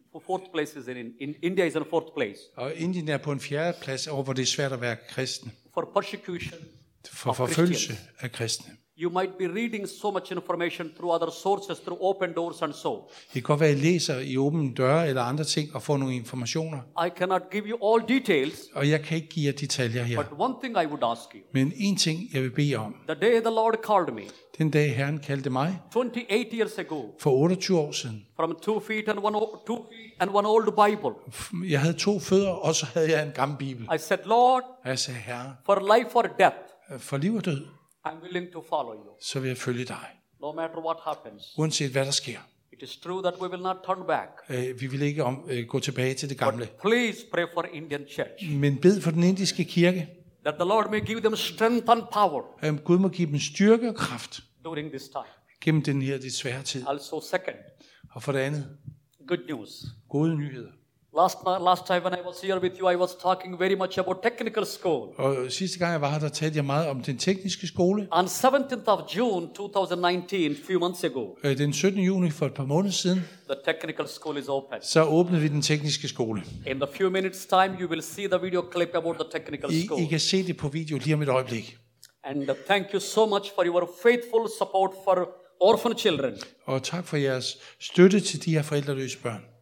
[SPEAKER 1] is in India is in fourth place
[SPEAKER 2] Og Indien er på en fjerde plads over, hvor det er svært at være kristen.
[SPEAKER 1] for persecution
[SPEAKER 2] For
[SPEAKER 1] of
[SPEAKER 2] forfølgelse
[SPEAKER 1] Christians.
[SPEAKER 2] af kristne.
[SPEAKER 1] You might be reading so much information through other sources, through open doors and so.
[SPEAKER 2] Det kan godt være, at I læser i åbne døre eller andre ting og får nogle informationer.
[SPEAKER 1] I cannot give you all details,
[SPEAKER 2] Og jeg kan ikke give jer detaljer her.
[SPEAKER 1] but one thing I would ask you.
[SPEAKER 2] Men en ting, jeg vil bede om.
[SPEAKER 1] The day the Lord called me,
[SPEAKER 2] Den dag Herren kaldte mig
[SPEAKER 1] 28 years ago,
[SPEAKER 2] for 28 år siden.
[SPEAKER 1] from 2 feet and one old Bible,
[SPEAKER 2] Jeg havde 2 fødder, og så havde jeg en gammel bibel.
[SPEAKER 1] I said, Lord,
[SPEAKER 2] Og jeg sagde, Herre,
[SPEAKER 1] for life or death,
[SPEAKER 2] for liv og død,
[SPEAKER 1] I'm willing to follow you.
[SPEAKER 2] så vil jeg følge dig.
[SPEAKER 1] No matter what happens.
[SPEAKER 2] Uanset hvad der sker.
[SPEAKER 1] It is true that we will not turn back.
[SPEAKER 2] Vi vil ikke gå tilbage til det gamle.
[SPEAKER 1] But please pray for Indian church.
[SPEAKER 2] Men bed for den indiske kirke.
[SPEAKER 1] That the Lord may give them strength and power
[SPEAKER 2] Gud må give dem styrke og kraft
[SPEAKER 1] during this time.
[SPEAKER 2] gennem den her lidt svære tid.
[SPEAKER 1] Also second,
[SPEAKER 2] Og for det andet,
[SPEAKER 1] good news.
[SPEAKER 2] gode nyheder.
[SPEAKER 1] Last time when I was here with you, I was talking very much about technical school.
[SPEAKER 2] Og sidste gang jeg var her, der talte jeg meget om den tekniske skole.
[SPEAKER 1] On 17th of June 2019, few months ago,
[SPEAKER 2] Den 17. juni for et par måneder siden,
[SPEAKER 1] the technical school is open.
[SPEAKER 2] så åbnede vi den tekniske skole.
[SPEAKER 1] In the few minutes time, you will see the video clip about the technical
[SPEAKER 2] I
[SPEAKER 1] school.
[SPEAKER 2] kan se det på video lige om et øjeblik.
[SPEAKER 1] And thank you so much for your faithful support for orphan children.
[SPEAKER 2] Og tak for jeres støtte til de her forældreløse børn.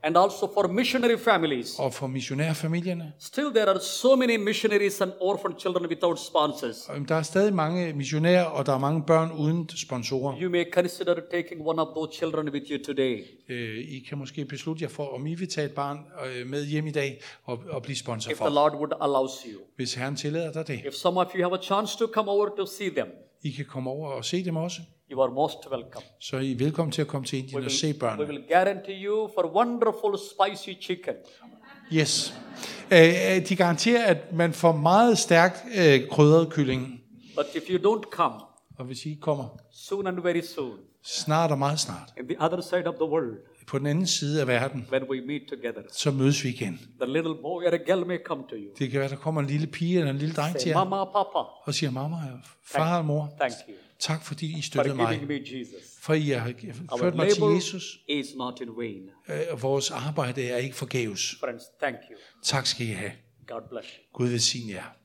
[SPEAKER 1] And also for missionary families.
[SPEAKER 2] og for missionærfamilierne.
[SPEAKER 1] Still there are so many missionaries and orphan children without sponsors.
[SPEAKER 2] Der er stadig mange missionærer, og der er mange børn uden sponsorer.
[SPEAKER 1] You may consider taking one of those children with you today.
[SPEAKER 2] I kan måske beslutte jer for, om I vil tage et barn med hjem i dag og blive sponsor
[SPEAKER 1] If the
[SPEAKER 2] for,
[SPEAKER 1] Lord would allow you.
[SPEAKER 2] hvis Herren tillader dig det.
[SPEAKER 1] If some of you have a chance to come over to see them,
[SPEAKER 2] I kan komme over og se dem også.
[SPEAKER 1] you are most welcome.
[SPEAKER 2] Så er I velkommen til at komme til Indien og se
[SPEAKER 1] We
[SPEAKER 2] børnene.
[SPEAKER 1] will guarantee you for wonderful spicy chicken.
[SPEAKER 2] Yes. De garanterer, at man får meget stærkt krydret kylling.
[SPEAKER 1] But if you don't come,
[SPEAKER 2] Og hvis I ikke kommer
[SPEAKER 1] soon and very soon,
[SPEAKER 2] snart og meget snart,
[SPEAKER 1] in the other side of the world,
[SPEAKER 2] på den anden side af verden,
[SPEAKER 1] when we meet together,
[SPEAKER 2] så mødes vi igen.
[SPEAKER 1] the little boy or a girl may come to you.
[SPEAKER 2] Det kan være, der kommer en lille pige eller en lille dreng til
[SPEAKER 1] Say,
[SPEAKER 2] jer,
[SPEAKER 1] Mama, Papa,
[SPEAKER 2] og siger, mamma, far og mor,
[SPEAKER 1] thank you
[SPEAKER 2] tak fordi I
[SPEAKER 1] for
[SPEAKER 2] støttede mig,
[SPEAKER 1] giving me Jesus.
[SPEAKER 2] for I har
[SPEAKER 1] Our
[SPEAKER 2] ført mig til
[SPEAKER 1] labor
[SPEAKER 2] Jesus.
[SPEAKER 1] is not in vain.
[SPEAKER 2] Vores arbejde er ikke forgæves.
[SPEAKER 1] Friends, thank you.
[SPEAKER 2] Tak skal I have.
[SPEAKER 1] God bless you.
[SPEAKER 2] Gud velsigne jer.